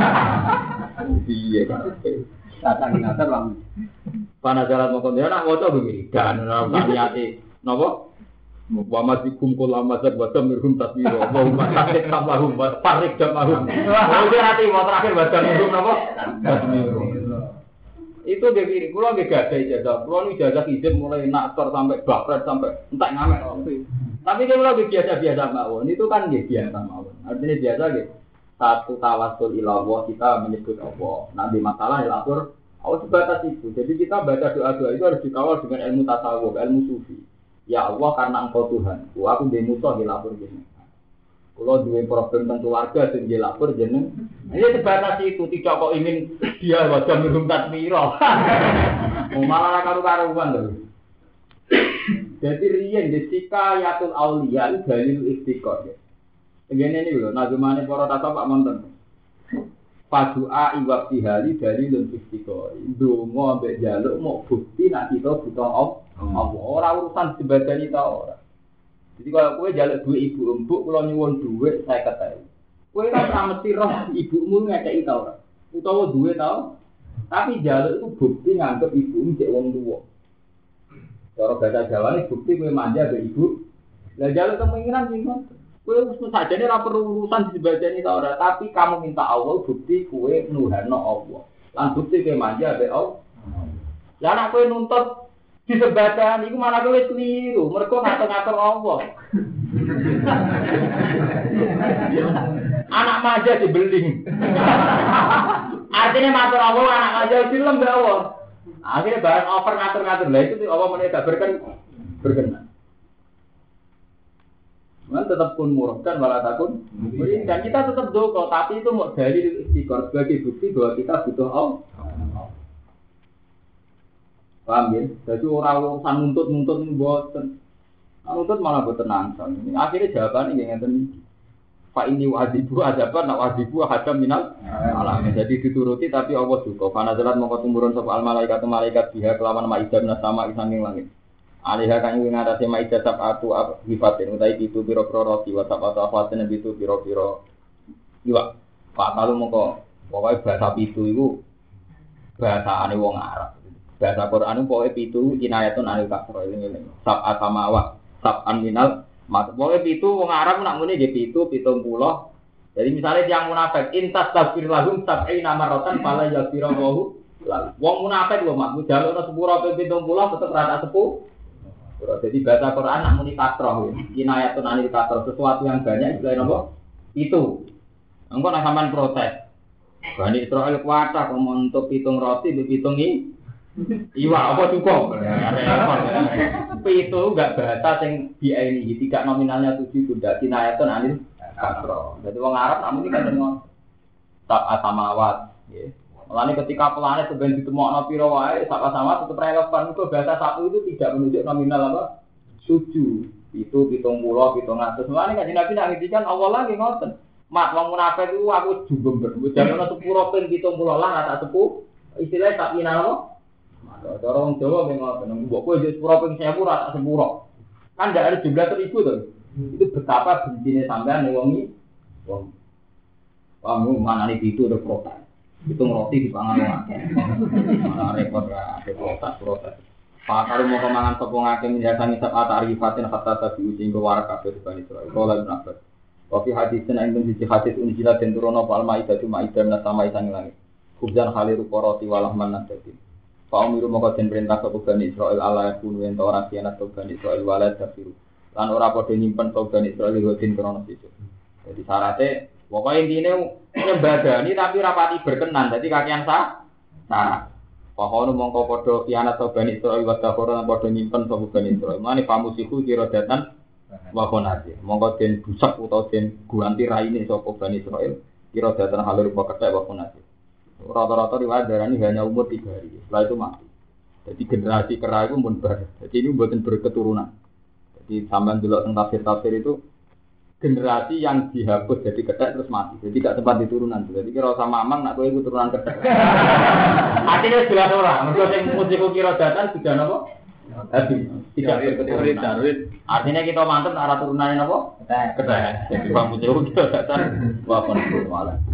Piye kan? Datang nasar lang. Panajaran mongko dia nak maca begini, dan ora niate napa? Wa masikum kula mazab wa tamirhum tasbiro wa hum tasbih tamahum wa farik jamahum. Oh dia nanti mau terakhir baca mirhum napa? Tasbiro. Itu dia kiri, kula nggih gadah ijazah. Kula nu ijazah izin mulai naktor sampai bakret sampai entek ngamek. Tapi kalau lagi biasa-biasa mawon, itu kan nggih biasa mawon. Artinya biasa nggih. Satu tawasul ilallah kita menyebut Allah. Nanti masalah lapor Allah sebatas itu. Jadi kita baca doa-doa itu harus dikawal dengan ilmu tasawuf, ilmu sufi. Ya Allah karena Engkau Tuhan. Aku ndek musuh dilapor jeneng. Kalau dua problem tentang keluarga sing dilapor jeneng. Ini sebatas itu, tidak kok ingin dia wajah minum tasmiro. Malah karu-karuan lho. Jadi riyen desika yatul auliya itu dalil istiqor ya. Begini ini lho, nazumane para tasawuf Pak Monten. Padua iwab tihali dalilun istiqor. Donga mbek njaluk mau bukti nek kita butuh Allah. Ora urusan dibadani ta ora. Jadi kalau kowe njaluk duit ibu empuk, kula nyuwun duit 50.000. Kowe kan ora mesti roh ibumu ngekeki ta ora. Utawa duwe ta. Tapi njaluk itu bukti nganggep ibumu cek wong tuwa. Cara bahasa Jawa ini bukti kowe manja mbek ibu. Lah njaluk kemungkinan sing ngono. Kowe wis sajane ora perlu urusan dibadani ta ora, tapi kamu minta Allah bukti kowe nuhano Allah. Lan bukti kowe manja mbek Allah. Lah nek kowe nuntut disebatan iku malah kowe keliru, mergo ngatur-ngatur Allah. Anak manja dibeling. Artinya matur Allah anak manja film mbek Allah. Akhirnya barang over ngatur-ngatur lah itu Allah meneh gak berkenan. Man tetap pun murahkan wala takun. Dan kita tetap doa, tapi itu mau dalil istiqor sebagai bukti bahwa kita butuh Allah. Paham ya? Jadi orang-orang nuntut ini boten. Nuntut malah boten nangsa. Akhirnya jawabannya yang ngeten. Fa ini wajibu ajaban, nak wajibu hadam minal alam. Jadi dituruti tapi Allah juga. Karena jalan mongko tumurun sapa al malaikat biha kelawan maidah sama isanging langit. Alihah kang ing ngatasi maidah sabatu hifatin utai itu pira-pira roti wa sabatu afatin itu pira-pira iwak. Pak kalau mongko pokoke bahasa pitu iku bahasane wong Arab. Bahasa Quran pokoke pitu inayatun anil kasra ini. Sab'at samawat, sab'an minal pokoke pitu wong Arab nak muni nggih pitu 70. Jadi misalnya yang munafik intas tafsir lahum sab'ina marratan fala yaghfiru wong munafik lho mak jalukno sepuro 70 tetep rata 10. Jadi bahasa Quran nak muni kasroh inayatun anil kasra sesuatu yang banyak istilah napa? Itu. Engko nek sampean protes. Bani Israil kuwata kok untuk pitung roti dipitung iwa apa cukup? Itu enggak bahasa sing diaini tidak nominalnya 7 tidak kinayatun anil kasra. Jadi wong Arab namun iki kan ngono. Tak samawat, nggih. Mulane ketika planet sebenarnya ditemokno pira wae sak sama tetep relevan itu bahasa satu itu tidak menunjuk nominal apa? 7. Itu 70, 700. Mulane kan Nabi nak ngendikan Allah lagi ngoten. Mat wong munafik itu aku jumber. Jangan sepuro ping 70 lah tak sepuh. Istilahnya tak ina apa? Cara wong Jawa memang mbok kowe wis sepuro ping 1000 ra tak sepuro. Kan ndak ada jumlah 1000 to. Itu betapa bencine sampean ning wong iki. Wong kamu manane itu udah protes. Itu ngeroti di pangan wong akeh. Malah repot ra protes. Pak kalau mau kemangan tepung akeh minjasan isap atarifatin hatta tabi sing warak kabeh bani Israil. Kala Ibnu Abbas. Wa fi haditsin indun siji hadits unjila den turono fal maidah na sama isang langit. Kubjan khaliru koroti walah manan dadi. Fa umiru moko den perintah sapa bani Israil ala yakun ento ora kianat bani Israil wala tafiru. Lan ora padha nyimpen bani Israil godin krono siji. Jadi syaratnya pokoknya intinya nyembadani tapi rapati berkenan. Jadi kakian syarat. Pahono mongko padha kianat bani Israil wa taforan padha nyimpen sapa bani Israil. Mane pamusiku kira datan wa konati. Mongko den busak utawa den guanti raine sapa bani Israil kira datan halur kethek wa konati. Rata-rata riwayat darani hanya umur 3 hari. Setelah itu mati. Jadi generasi kera itu pun bar. Jadi ini mboten berketurunan. Jadi sampean delok teng tafsir itu generasi yang dihapus jadi kethek terus mati. Jadi gak sempat diturunan. Jadi kira sama mamang nak kowe iku turunan kethek. Artinya jelas ora. Mergo sing musiku kira datan sudah napa? Habis. Tidak berketurunan. Artinya kita mantep arah turunane napa? Kethek. Jadi bang musiku kira datan wa kon